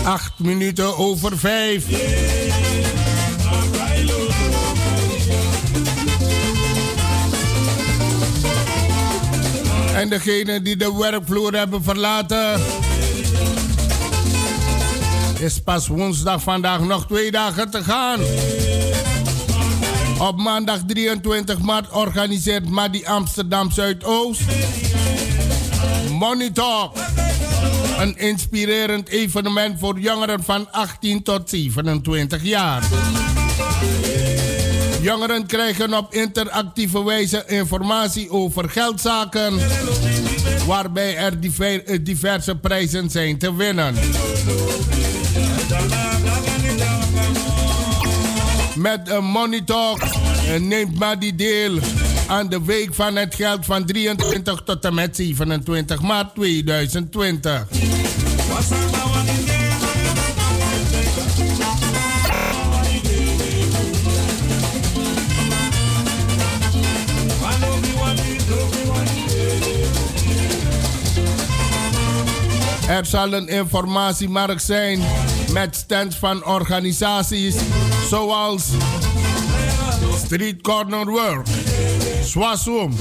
8 minuten over 5. En degenen die de werkvloer hebben verlaten, is pas woensdag vandaag nog 2 dagen te gaan. Op maandag 23 maart organiseert Madi Amsterdam Zuidoost Money Talk. Een inspirerend evenement voor jongeren van 18 tot 27 jaar. Jongeren krijgen op interactieve wijze informatie over geldzaken, waarbij er diverse prijzen zijn te winnen. Met een Money Talk neemt Madi deel aan de Week van het Geld van 23 tot en met 27 maart 2020. Er zal een informatiemarkt zijn met stands van organisaties zoals Street Corner Work, Swasum,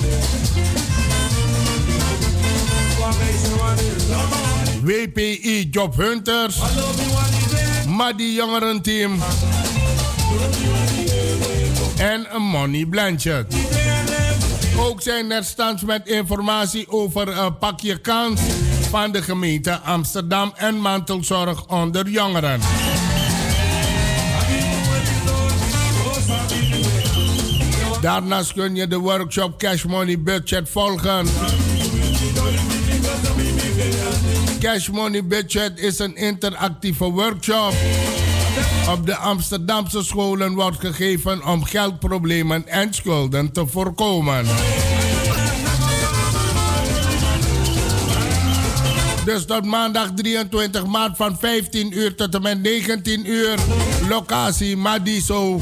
WPI Job Hunters, Madi Jongerenteam en Money Blanchard. Ook zijn er stands met informatie over Pak je Kans van de gemeente Amsterdam en mantelzorg onder jongeren. Daarnaast kun je de workshop Cash Money Budget volgen. Cash Money Budget is een interactieve workshop. Op de Amsterdamse scholen wordt gegeven om geldproblemen en schulden te voorkomen. Dus tot maandag 23 maart van 15 uur tot en met 19 uur. Locatie Madiso,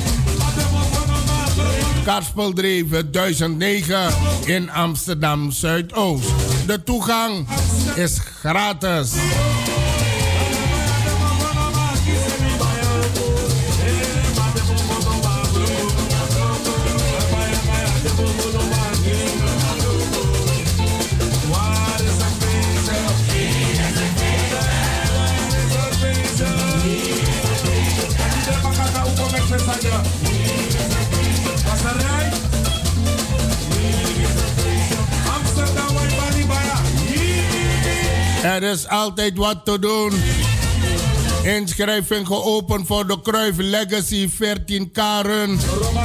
Karspeldreven 1009 in Amsterdam Zuidoost. De toegang is gratis. Er is altijd wat te doen. Inschrijving geopend voor de Cruyff Legacy 14 Karen.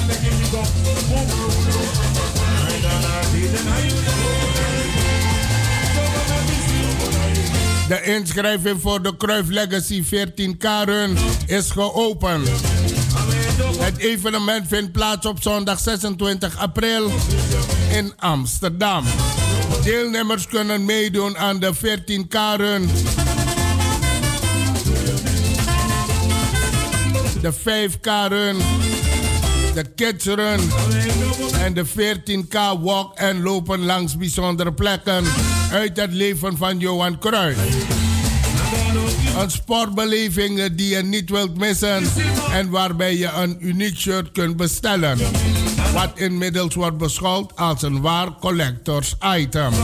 De inschrijving voor de Cruyff Legacy 14 Karen is geopend. Het evenement vindt plaats op zondag 26 april in Amsterdam. Deelnemers kunnen meedoen aan de 14 Karen, de 5 Karen, de Kids Run en de 14K walk en lopen langs bijzondere plekken uit het leven van Johan Cruijff. Een sportbeleving die je niet wilt missen en waarbij je een uniek shirt kunt bestellen. Wat inmiddels wordt beschouwd als een waar collectors item.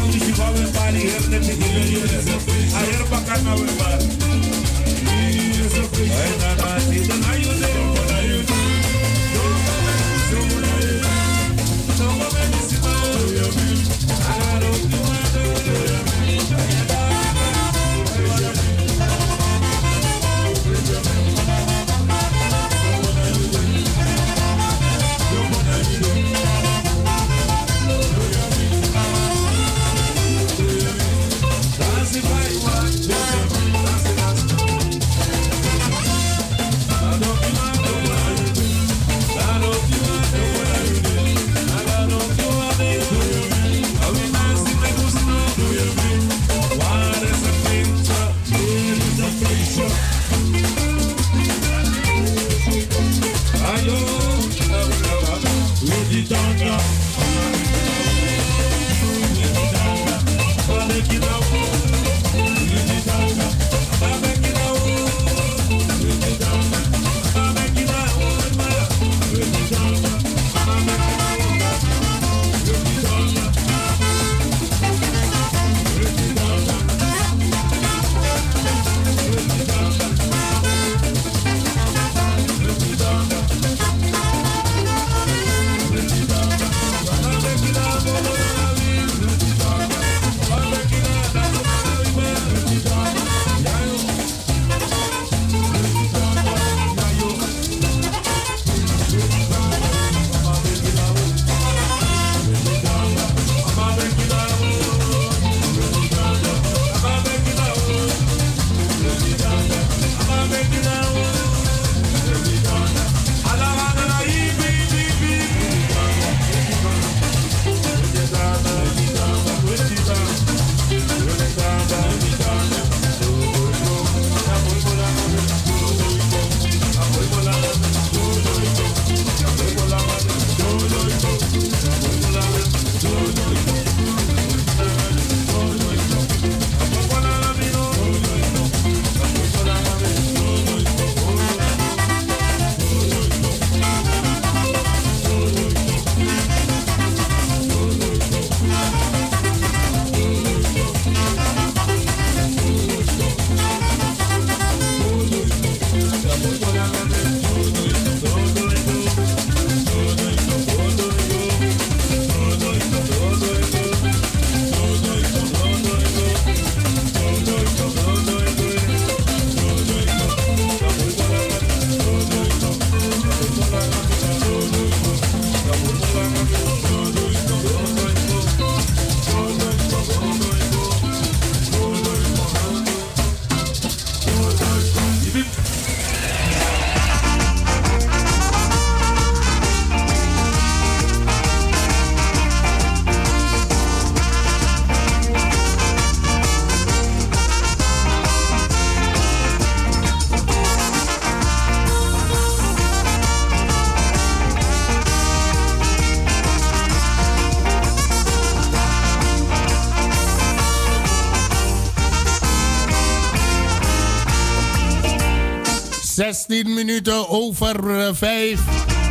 16 minuten over 5.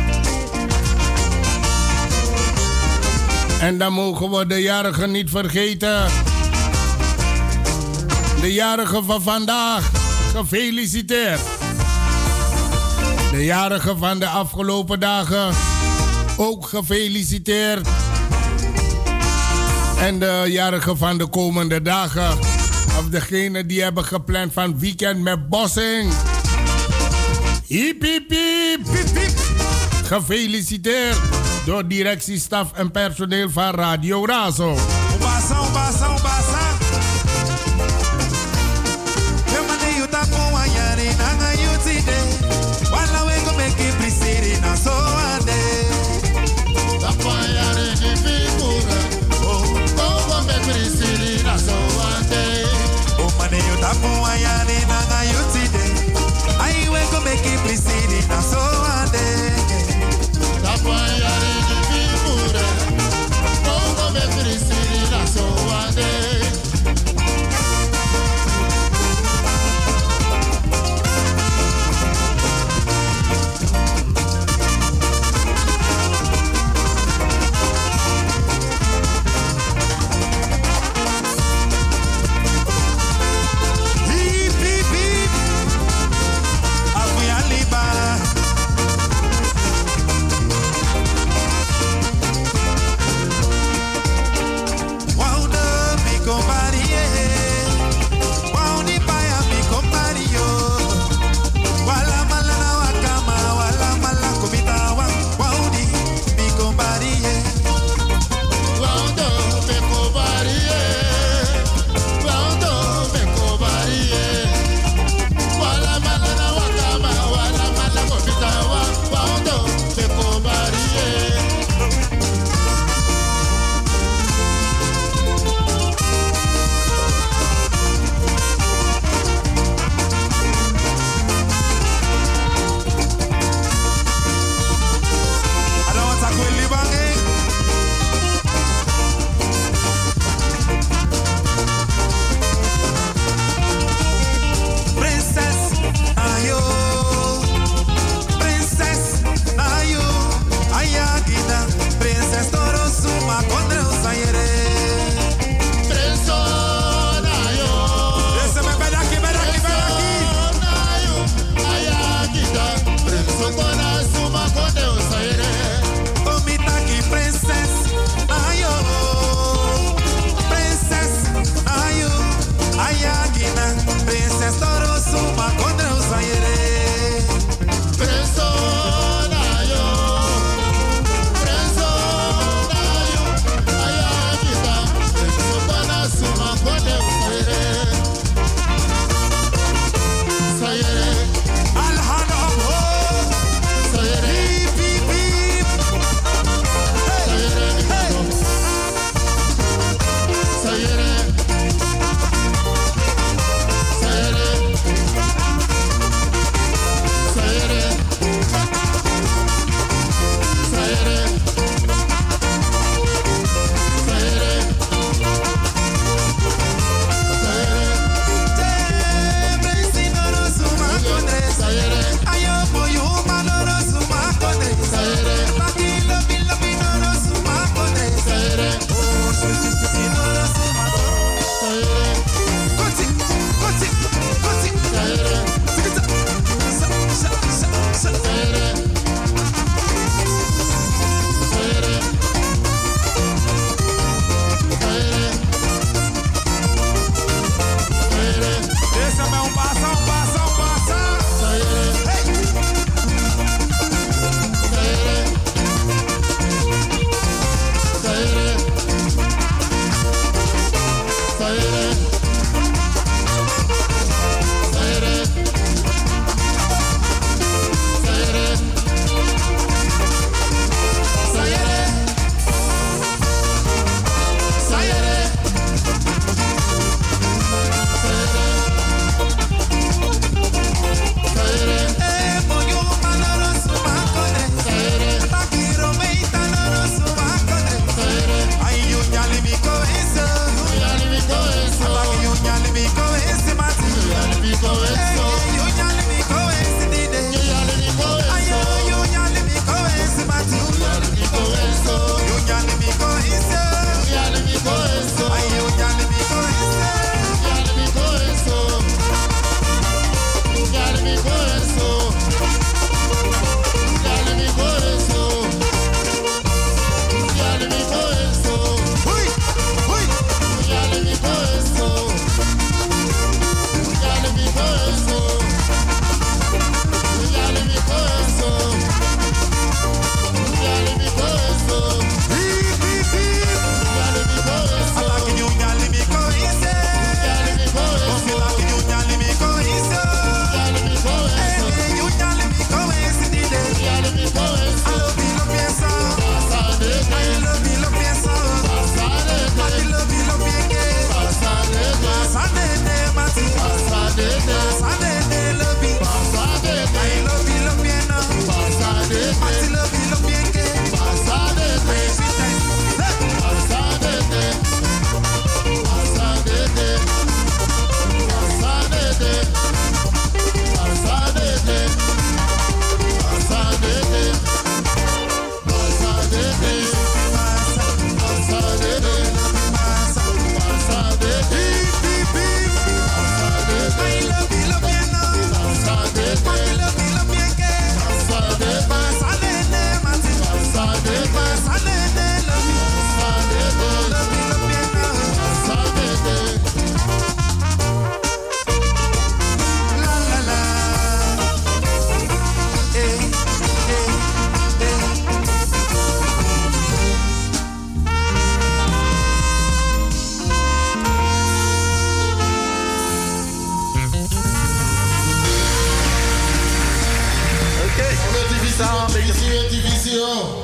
En dan mogen we de jarigen niet vergeten. De jarigen van vandaag, gefeliciteerd. De jarigen van de afgelopen dagen, ook gefeliciteerd. En de jarigen van de komende dagen, of degenen die hebben gepland van weekend met Bossing. Hiep, hiep, hiep, hiep, hiep. Gefeliciteerd door directie, staf en personeel van Radio Razo. One day. Divisio.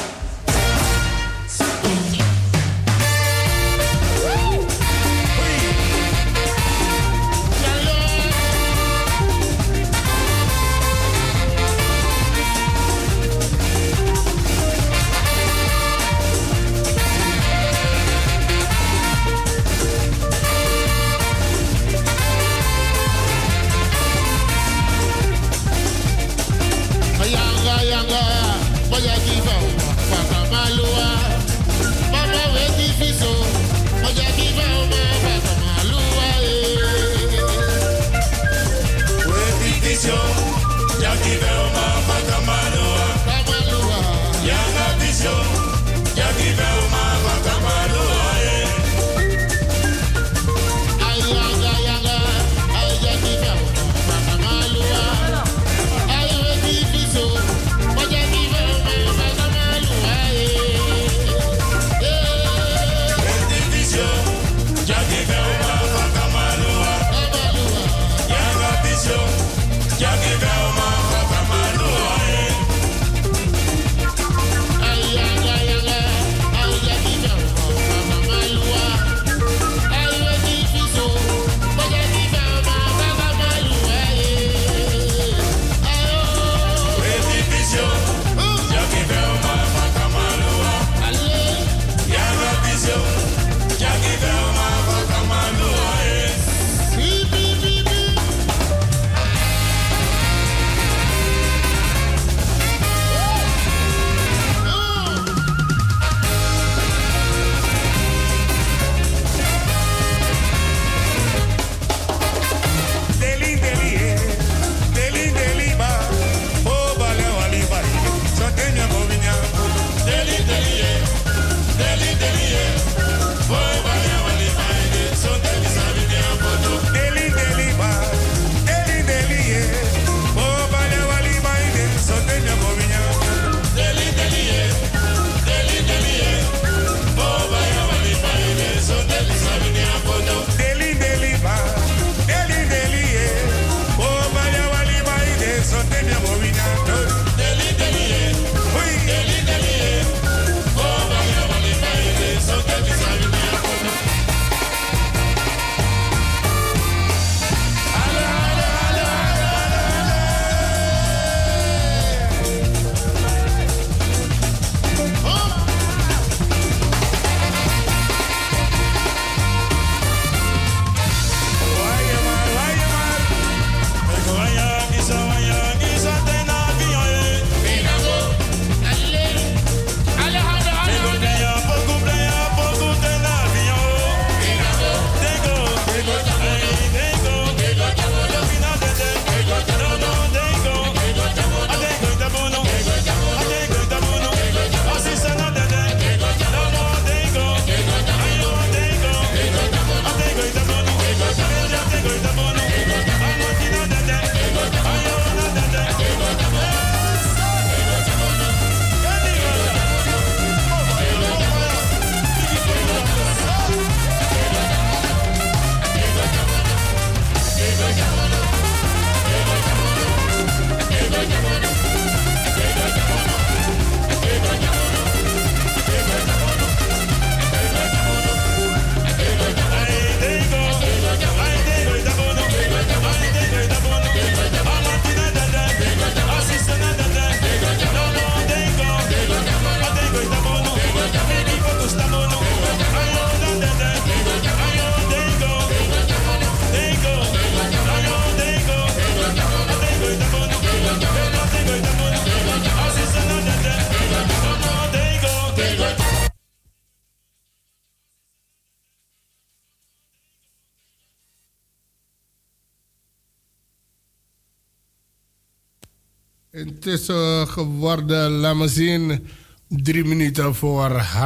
Het is geworden, laat me zien, 3 minuten voor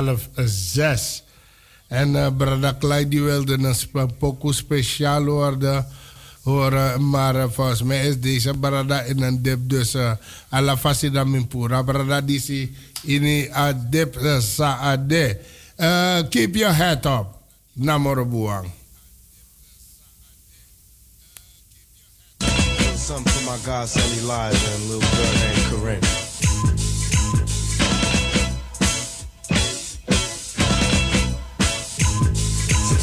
5:30. En Brada Clyde die wilde een pokoe speciaal horen. Maar volgens mij is deze Brada in een dip. Dus alla fasida mimpura. Brada disi ini a dip saade. Keep your head up. Namoro buang. Something for my God, Sunny Live, and a little girl named Corinne.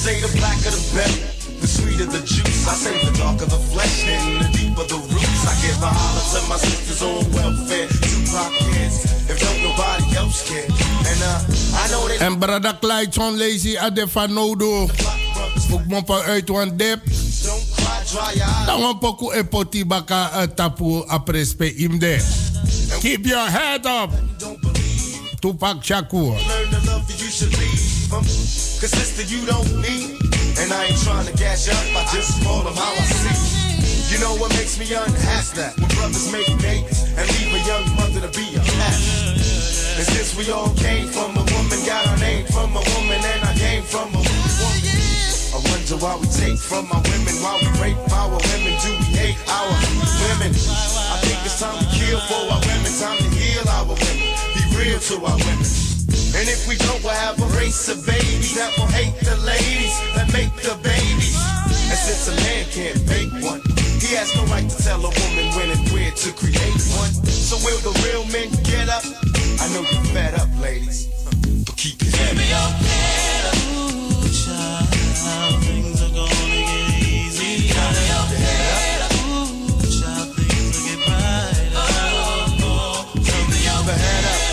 say the blacker the better, the sweeter the juice. I say the darker the flesh and the deeper the roots. I give a holler to my sisters on welfare, Tupac kids, if don't nobody else care. And I know they. En brada Clyde John Lazy Adefa Nodo. Ook mopa uit wan dep. Dan wan poku epoti baka tapu aprespe imde. Keep your head up. Tupac Shakur. Learn to love you should leave them. Cause sister you don't need. And I ain't trying to gas you up, I just call them how I see. You know what makes me unhappy? That when brothers make babies and leave a young mother to be a cat. And since we all came from a woman, got our name from a woman, and I came from a woman. I wonder why we take from our women, why we rape our women, do we hate our women? I think it's time to kill for our women, time to heal our women, be real to our women. And if we don't, we'll have a race of babies that will hate the ladies that make the babies. And since a man can't make one, he has no right to tell a woman when and where to create one. So will the real men get up? I know you're fed up, ladies, but keep your head up. Ooh, child, things are gonna get easy. Ooh, child, things will get brighter. Keep your head up.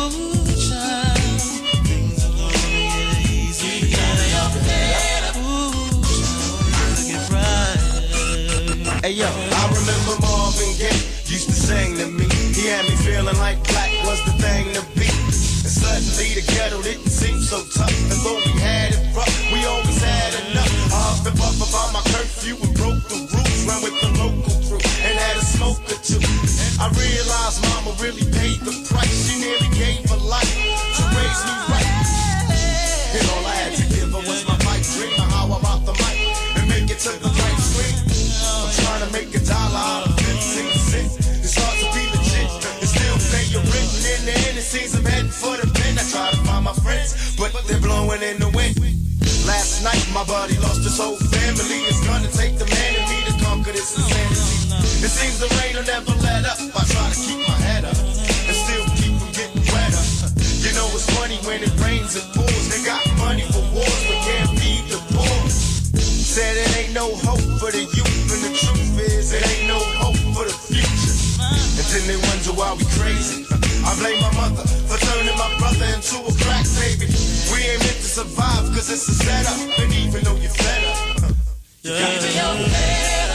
Hey yo, I remember Marvin Gaye used to sing to me. He had me feeling like black was the thing to be. And suddenly the ghetto didn't seem so tough. And though we had it rough, we always had enough. I huffed and puffed about my curfew and broke the rules. Ran with the local crew and had a smoke or two. I realized mama really paid the price. She nearly gave her life to raise me right. And all I had to give her was my pipe dream of how I rock the mic and make it to the right screen. Trying to make $1 out of 15 cents. It's hard to be legit and still pay your rent. And in the end, it seems I'm heading for the pen. I try to find my friends, but they're blowing in the wind. Last night, my buddy lost his whole family. It's gonna take the man in me to conquer this insanity. It seems the rain will never let up. I try to keep my head up and still keep from getting wetter. You know it's funny when it rains and pours. They got money for wars, but can't feed the poor. Said it ain't no hope for the youth, and the truth is it ain't no hope for the future. And then they wonder why we crazy. I blame my mother for turning my brother into a crack baby. We ain't meant to survive cause it's a setup, and even though you're fed up, you got to your head up.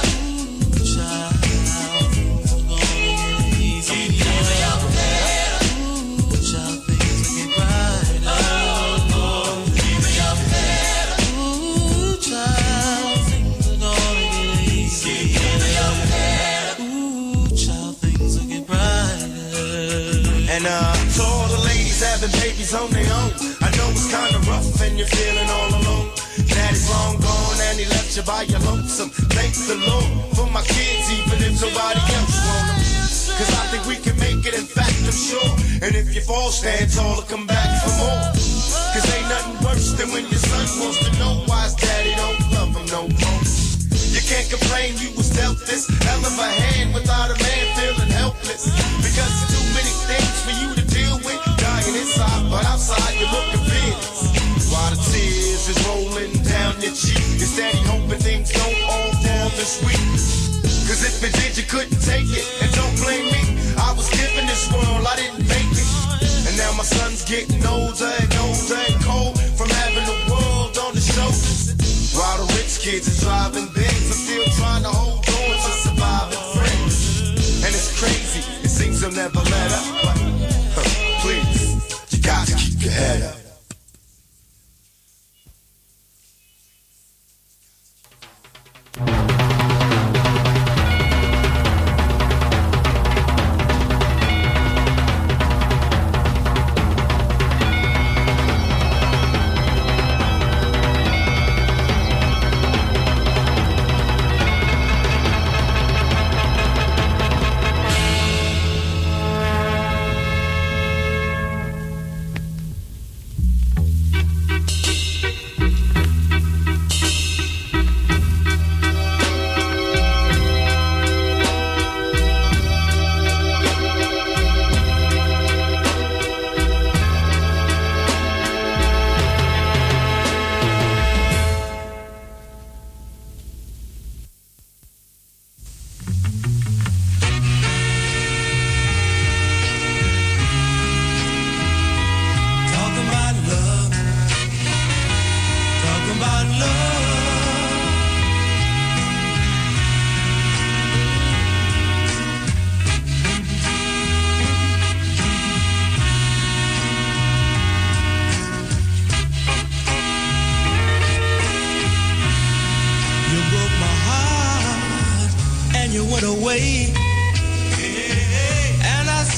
To all the ladies having babies on their own, I know it's kinda rough and you're feeling all alone. Daddy's long gone and he left you by your lonesome. Thank the Lord for my kids, even if nobody else want them. Cause I think we can make it, in fact I'm sure. And if you fall, stand tall and come back for more. Cause ain't nothing worse than when your son wants to know why his daddy don't love him no more. You can't complain you was dealt this hell of a hand without a man feeling helpless. Because there's too many things for you to deal with. Dying inside, but outside you're looking fearless. While the tears is rolling down your cheek, you're steady hoping things don't all fall this week. Cause if it did, you couldn't take it. And don't blame me, I was given this world, I didn't make it. And now my son's getting older and older and cold from having the world on his shoulders. While the rich kids are driving Benz, I'm still trying to hold on to surviving friends. And it's crazy, it seems they'll never let up, but please, you got to keep your head up.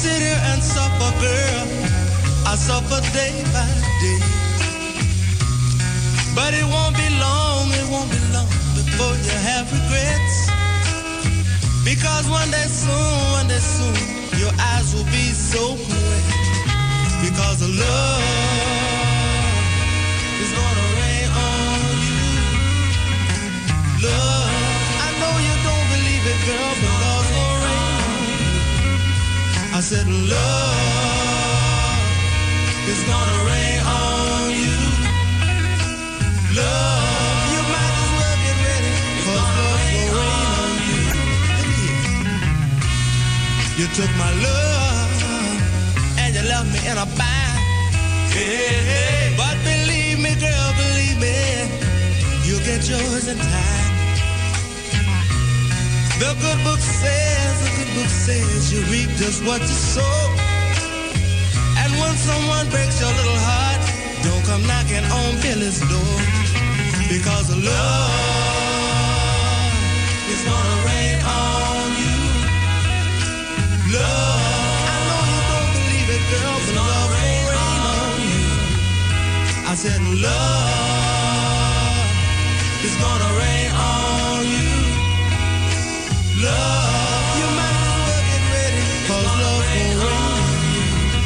sit here and suffer, girl. I suffer day by day. But it won't be long before you have regrets. Because one day soon, your eyes will be so wet. Because the love is gonna rain on you. Love, I know you don't believe it, girl, but love's gonna rain on you. I said love is gonna rain on you. Love, you might as well get ready, 'cause love's gonna rain on you. You took my love and you left me in a bind. Hey, hey. But believe me, girl, believe me, you'll get yours in time. The good book says you reap just what you sow. And when someone breaks your little heart, don't come knocking on Billy's door. Because love is gonna rain on you. Love, I know you don't believe it, girl, but love will rain on you. I said love is gonna rain on you. Love, you might as well get ready, 'cause love will rain on you.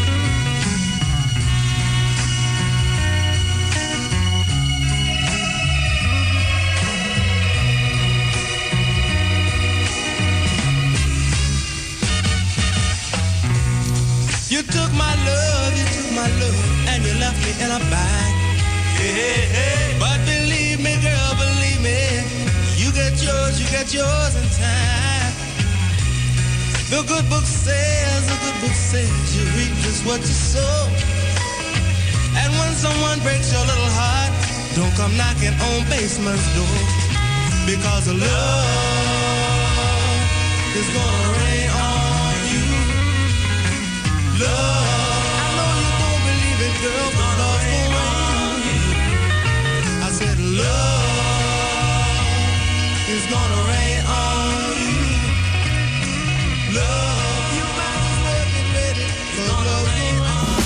You took my love, and you left me in a bind. Hey, hey. But believe me, girl, believe me, you get yours in time. The good book says you reap just what you sow. And when someone breaks your little heart, don't come knocking on basement's door. Because the love is gonna rain on you. Love, I know you don't believe it, girl, but love will rain on you. I said love is gonna rain on you. Love, you might as well get ready, 'cause love will rain on you.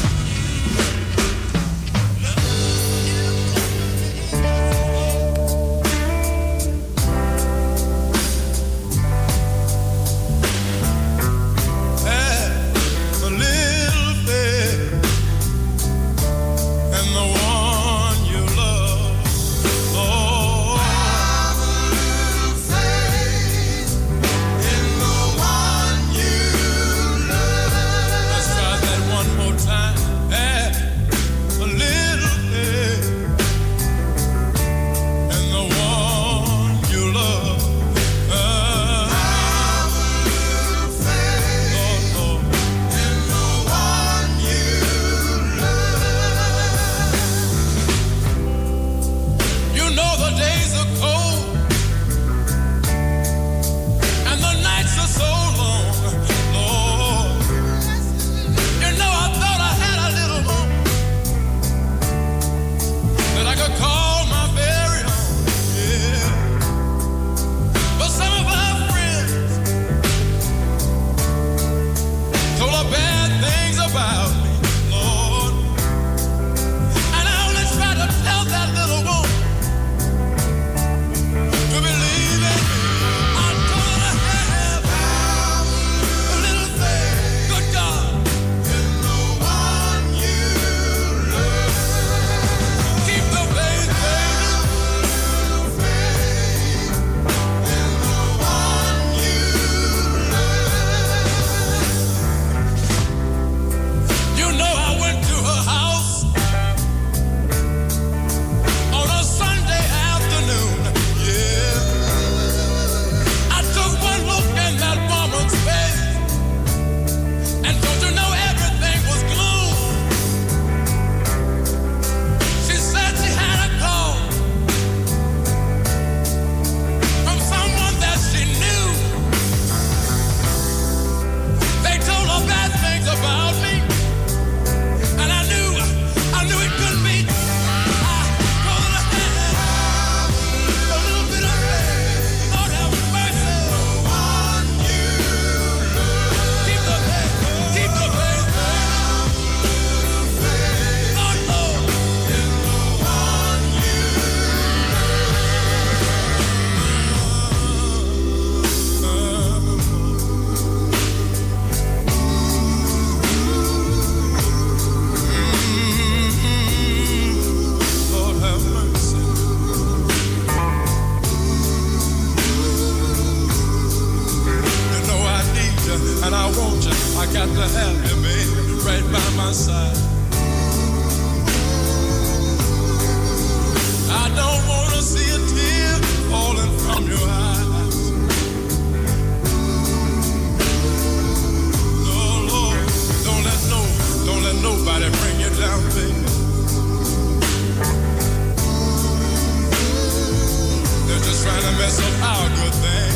and I want you. I got to have you, baby, right by my side. I don't want to see a tear falling from your eyes. No, Lord, don't let nobody bring you down, baby. They're just trying to mess up our good thing.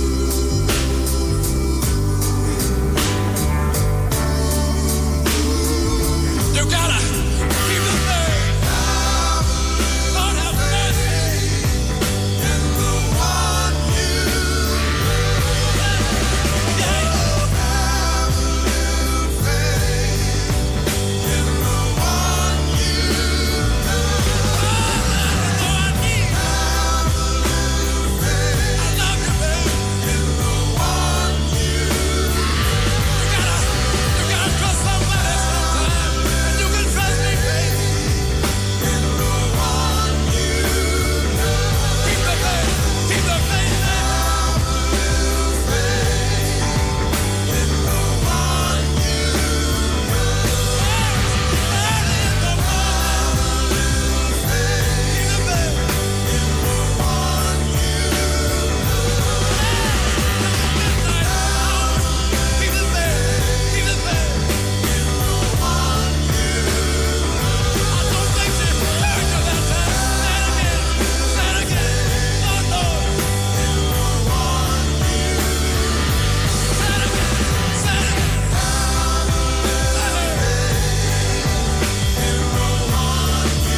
You gotta keep the faith. Lord have mercy in the one you love. Yeah. Have a little faith in the one you love. I need. Have a little faith. I love you, baby. In the one you love. You gotta trust somebody sometime. You can trust me, baby. In the one you love. Keep the faith. Keep the faith now. Have a little faith. In the one you love. And in the one. Have a little faith. Keep the faith. In the one you love. Midnight hour. Keep the faith. Keep the faith. In the one you love. I don't think she heard you that time. Say it again. Oh, no. In the one you love. Say it again. Say it again. Have a little faith. In the one you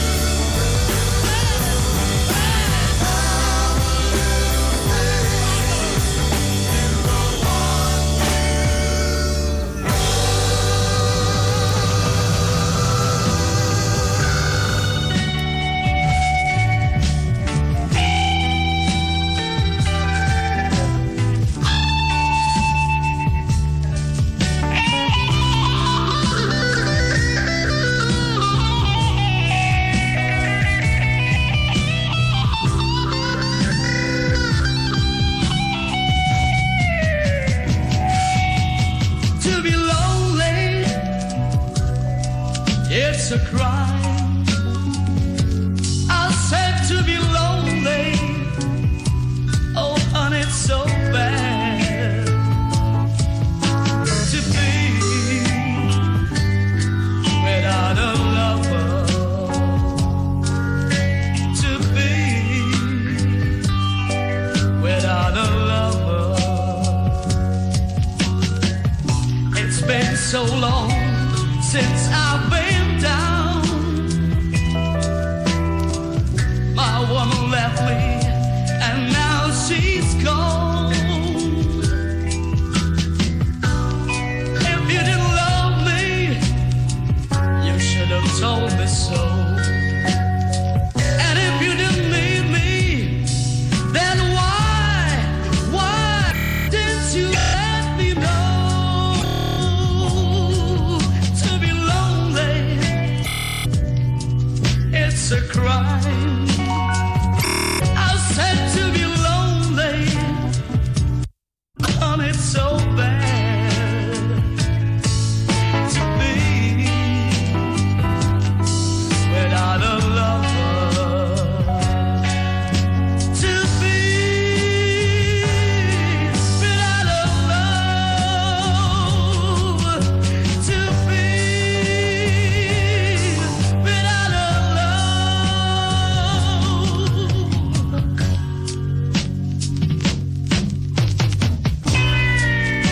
To be lonely, it's a crime. I said to be lonely, oh honey, it's so bad. To be without a lover, to be without a lover. It's been so long since I've been down. My woman left me and now she's gone. If you didn't love me, you should have told me so. And if you didn't need me, then why didn't you let me know? To be lonely, it's a crime. I said to be lonely, and it's so bad. To be without a lover, to be without a love, to be without a love.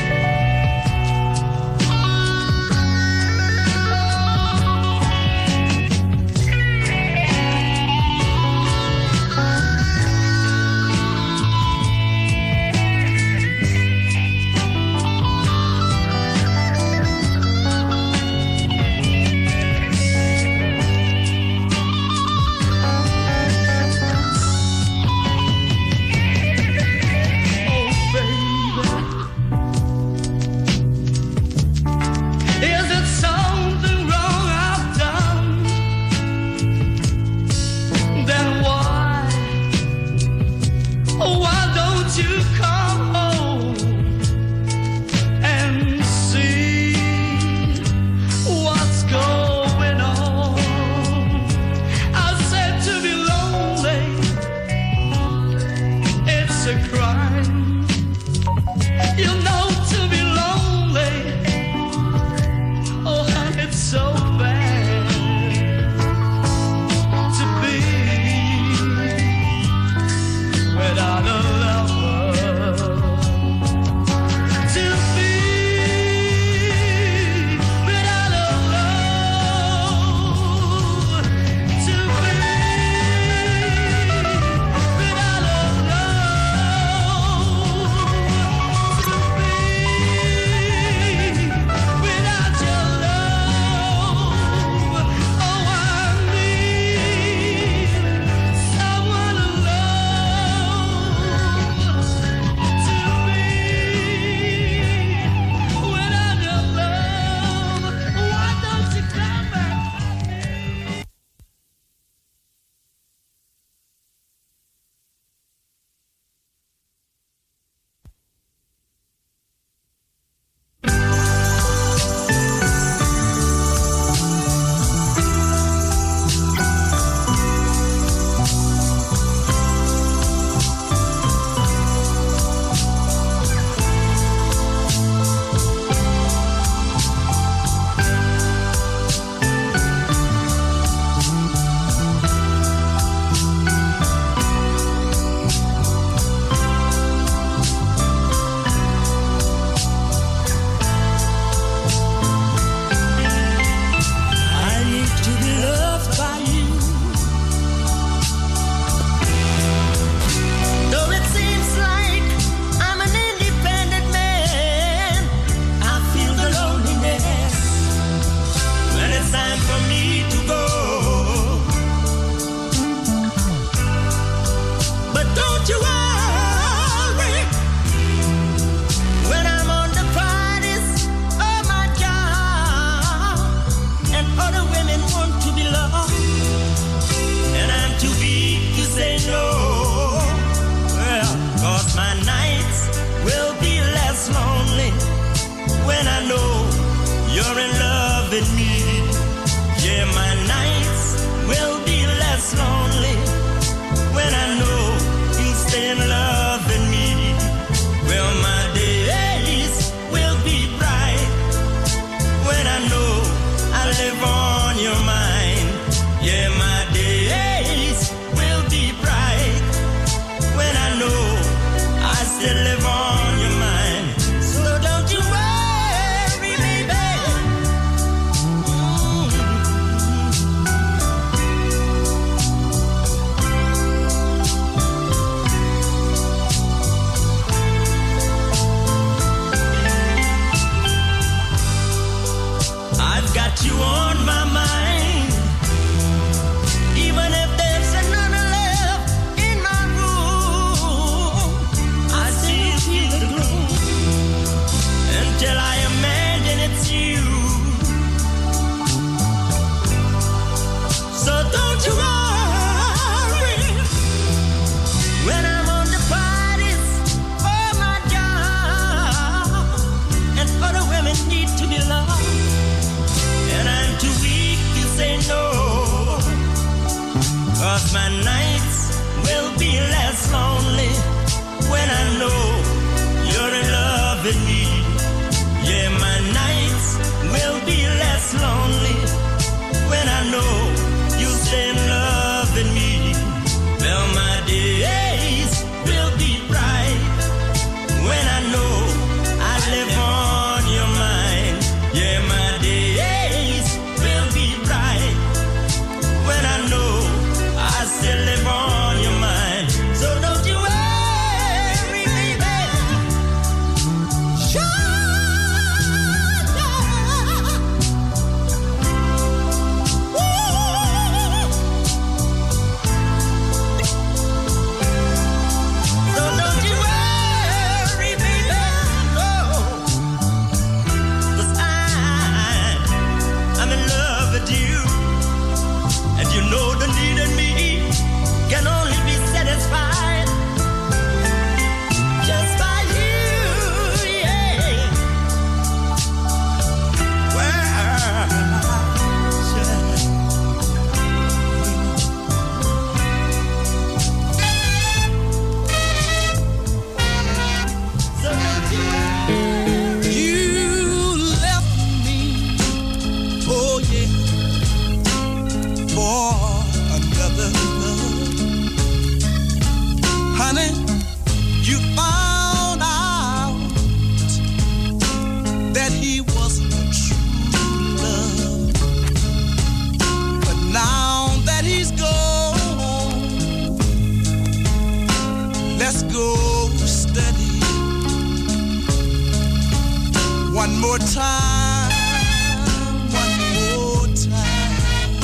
more time, one more time.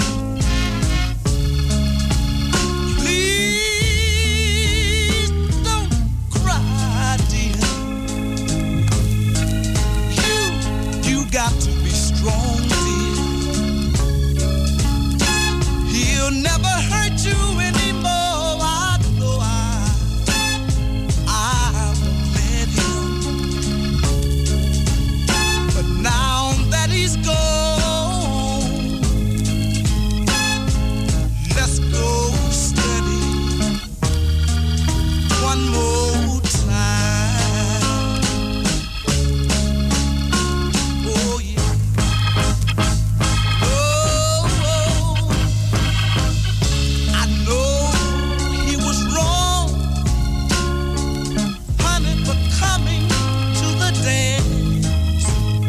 Please don't cry, dear. You got to be strong, dear. He'll never hurt you anymore. I know I won't let him. But now that he's gone, let's go steady one more time. Oh yeah. Oh, I know he was wrong, honey, for coming to the dance.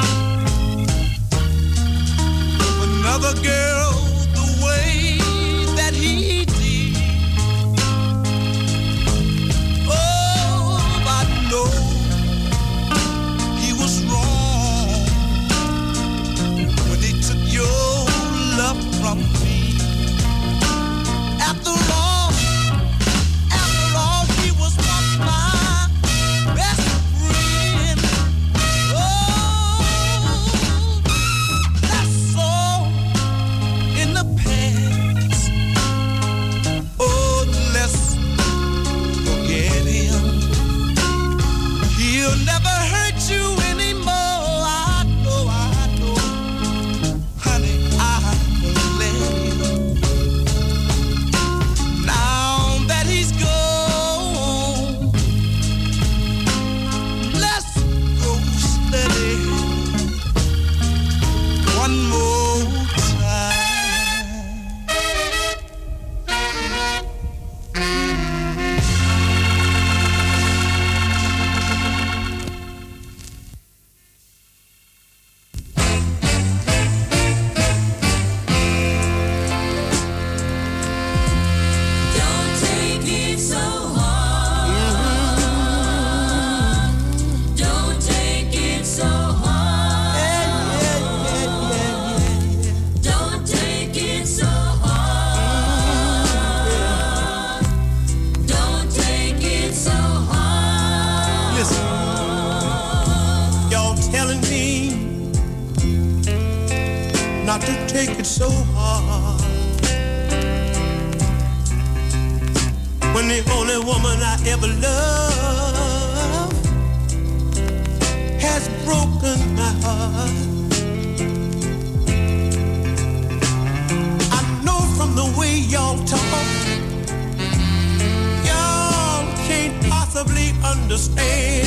Another girl, the way that he did. Oh, I know he was wrong when he took your love from me. After all, he was once my best friend. Oh, that's all in the past. Oh, let's forget him. He'll never hurt you anymore. I know, honey, I won't let him. Now that he's gone, let's go steady one more time. Don't take it so hard. Don't take it so hard. Don't take it so hard. Don't take it so hard. Listen, y'all telling me not to take it so hard. When the only woman I ever loved has broken my heart. I know from the way y'all talk, y'all can't possibly understand.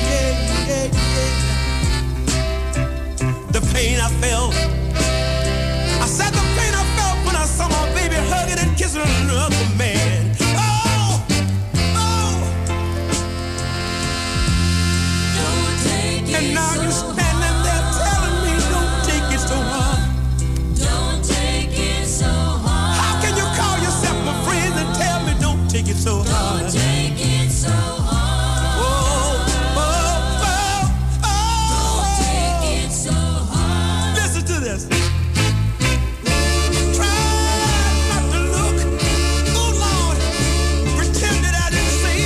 The pain I felt. I said the pain I felt when I saw my baby hugging and kissing another man. Don't take it And now so you're standing there telling me don't take it so hard. Don't take it so hard. How can you call yourself my friend and tell me don't take it so hard? Don't take it so hard. Don't take it so hard. Listen to this. Try not to look. Oh Lord, pretend that I didn't see.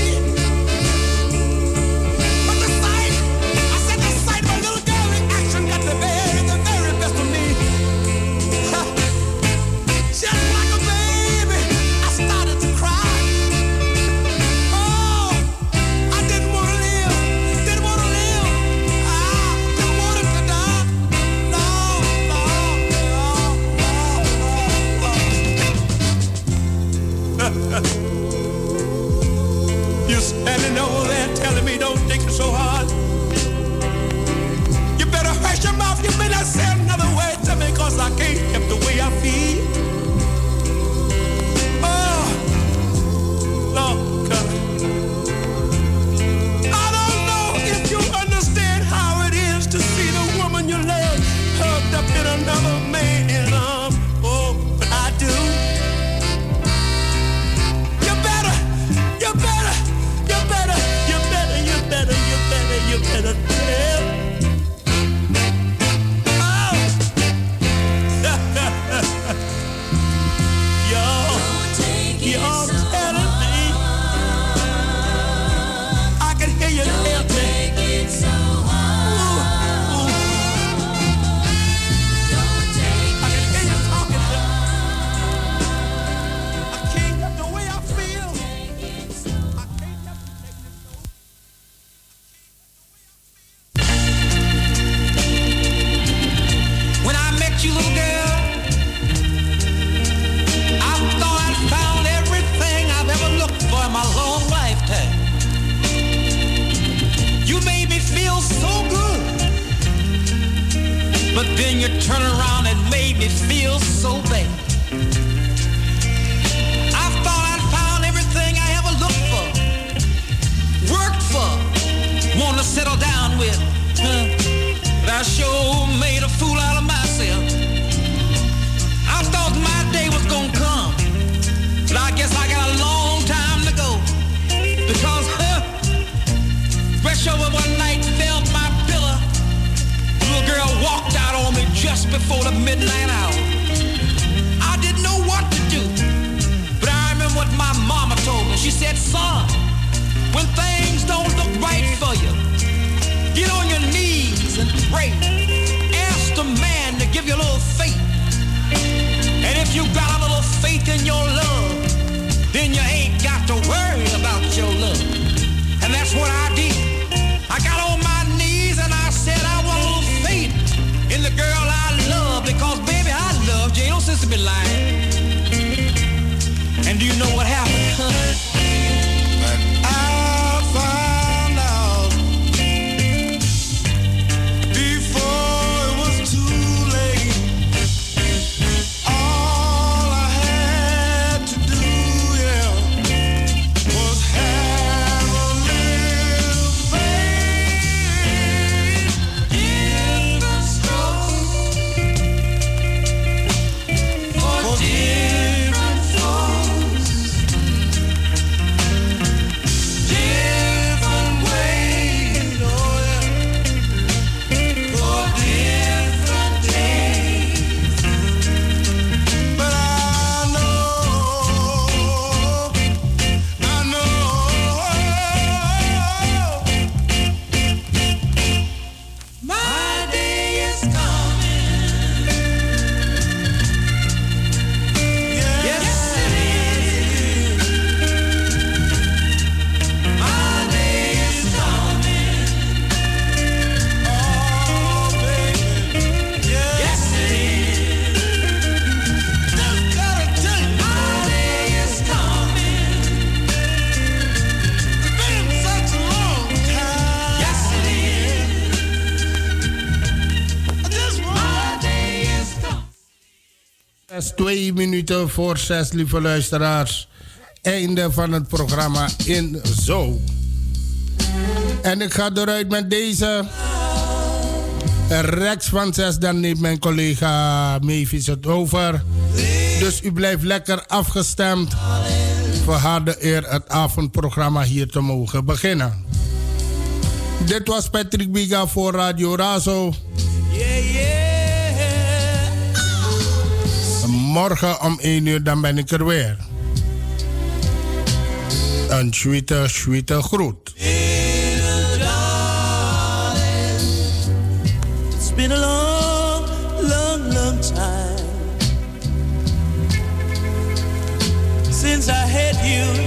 But the sight, I said the sight of a little girl reaction got the very best of me. Just like a baby, I started to cry. Oh, I didn't want to live. Didn't want to live. I didn't want him to die. No. You're standing over there telling me don't take it so hard. You better hush your mouth. You may not say another word to me because I can't help the way I feel. Oh, Lord God. I don't know if you understand how it is to see the woman you love hugged up in another man's arms. Oh, but I do. You better tell But then you turn around and made me feel so bad. I thought I'd found everything I ever looked for, worked for, want to settle down with. But I sure made a fool out of myself. I thought my day was gonna come, but I guess I got a long time to go. Because fresh over one night, felt my pillow. Little girl walked out on me just before the midnight hour. I didn't know what to do, but I remember what my mama told me. She said, son, when things don't look right for you, get on your knees and pray. Ask the man to give you a little faith. And if you got a little faith in your love, then you ain't got to worry about your love. And that's what I did. I got on my knees and I said I want a little faith in the girl I love, because baby, I loved you. Ain't no sense to be lying. And do you know what happened? I found out before it was too late. All I had to do, yeah, was have a little faith in the stars for different folks, different ways, oh yeah, for different days. But I know my day is coming. Yes, it is. My day is coming. Oh, baby. Yes, it is. Just gotta tell you, my day is coming. It's been such a long time. Yes, it is. My day is coming. 2 minuten voor 6, lieve luisteraars. Einde van het programma in Zo. En ik ga eruit met deze. Rex van 6, dan neemt mijn collega Mavis het over. Dus u blijft lekker afgestemd. Voor haar de eer het avondprogramma hier te mogen beginnen. Dit was Patrick Biga voor Radio Razo. Morgen om 1 uur dan ben ik er weer. Een sweete groet. It's been a long, long, long time since I had you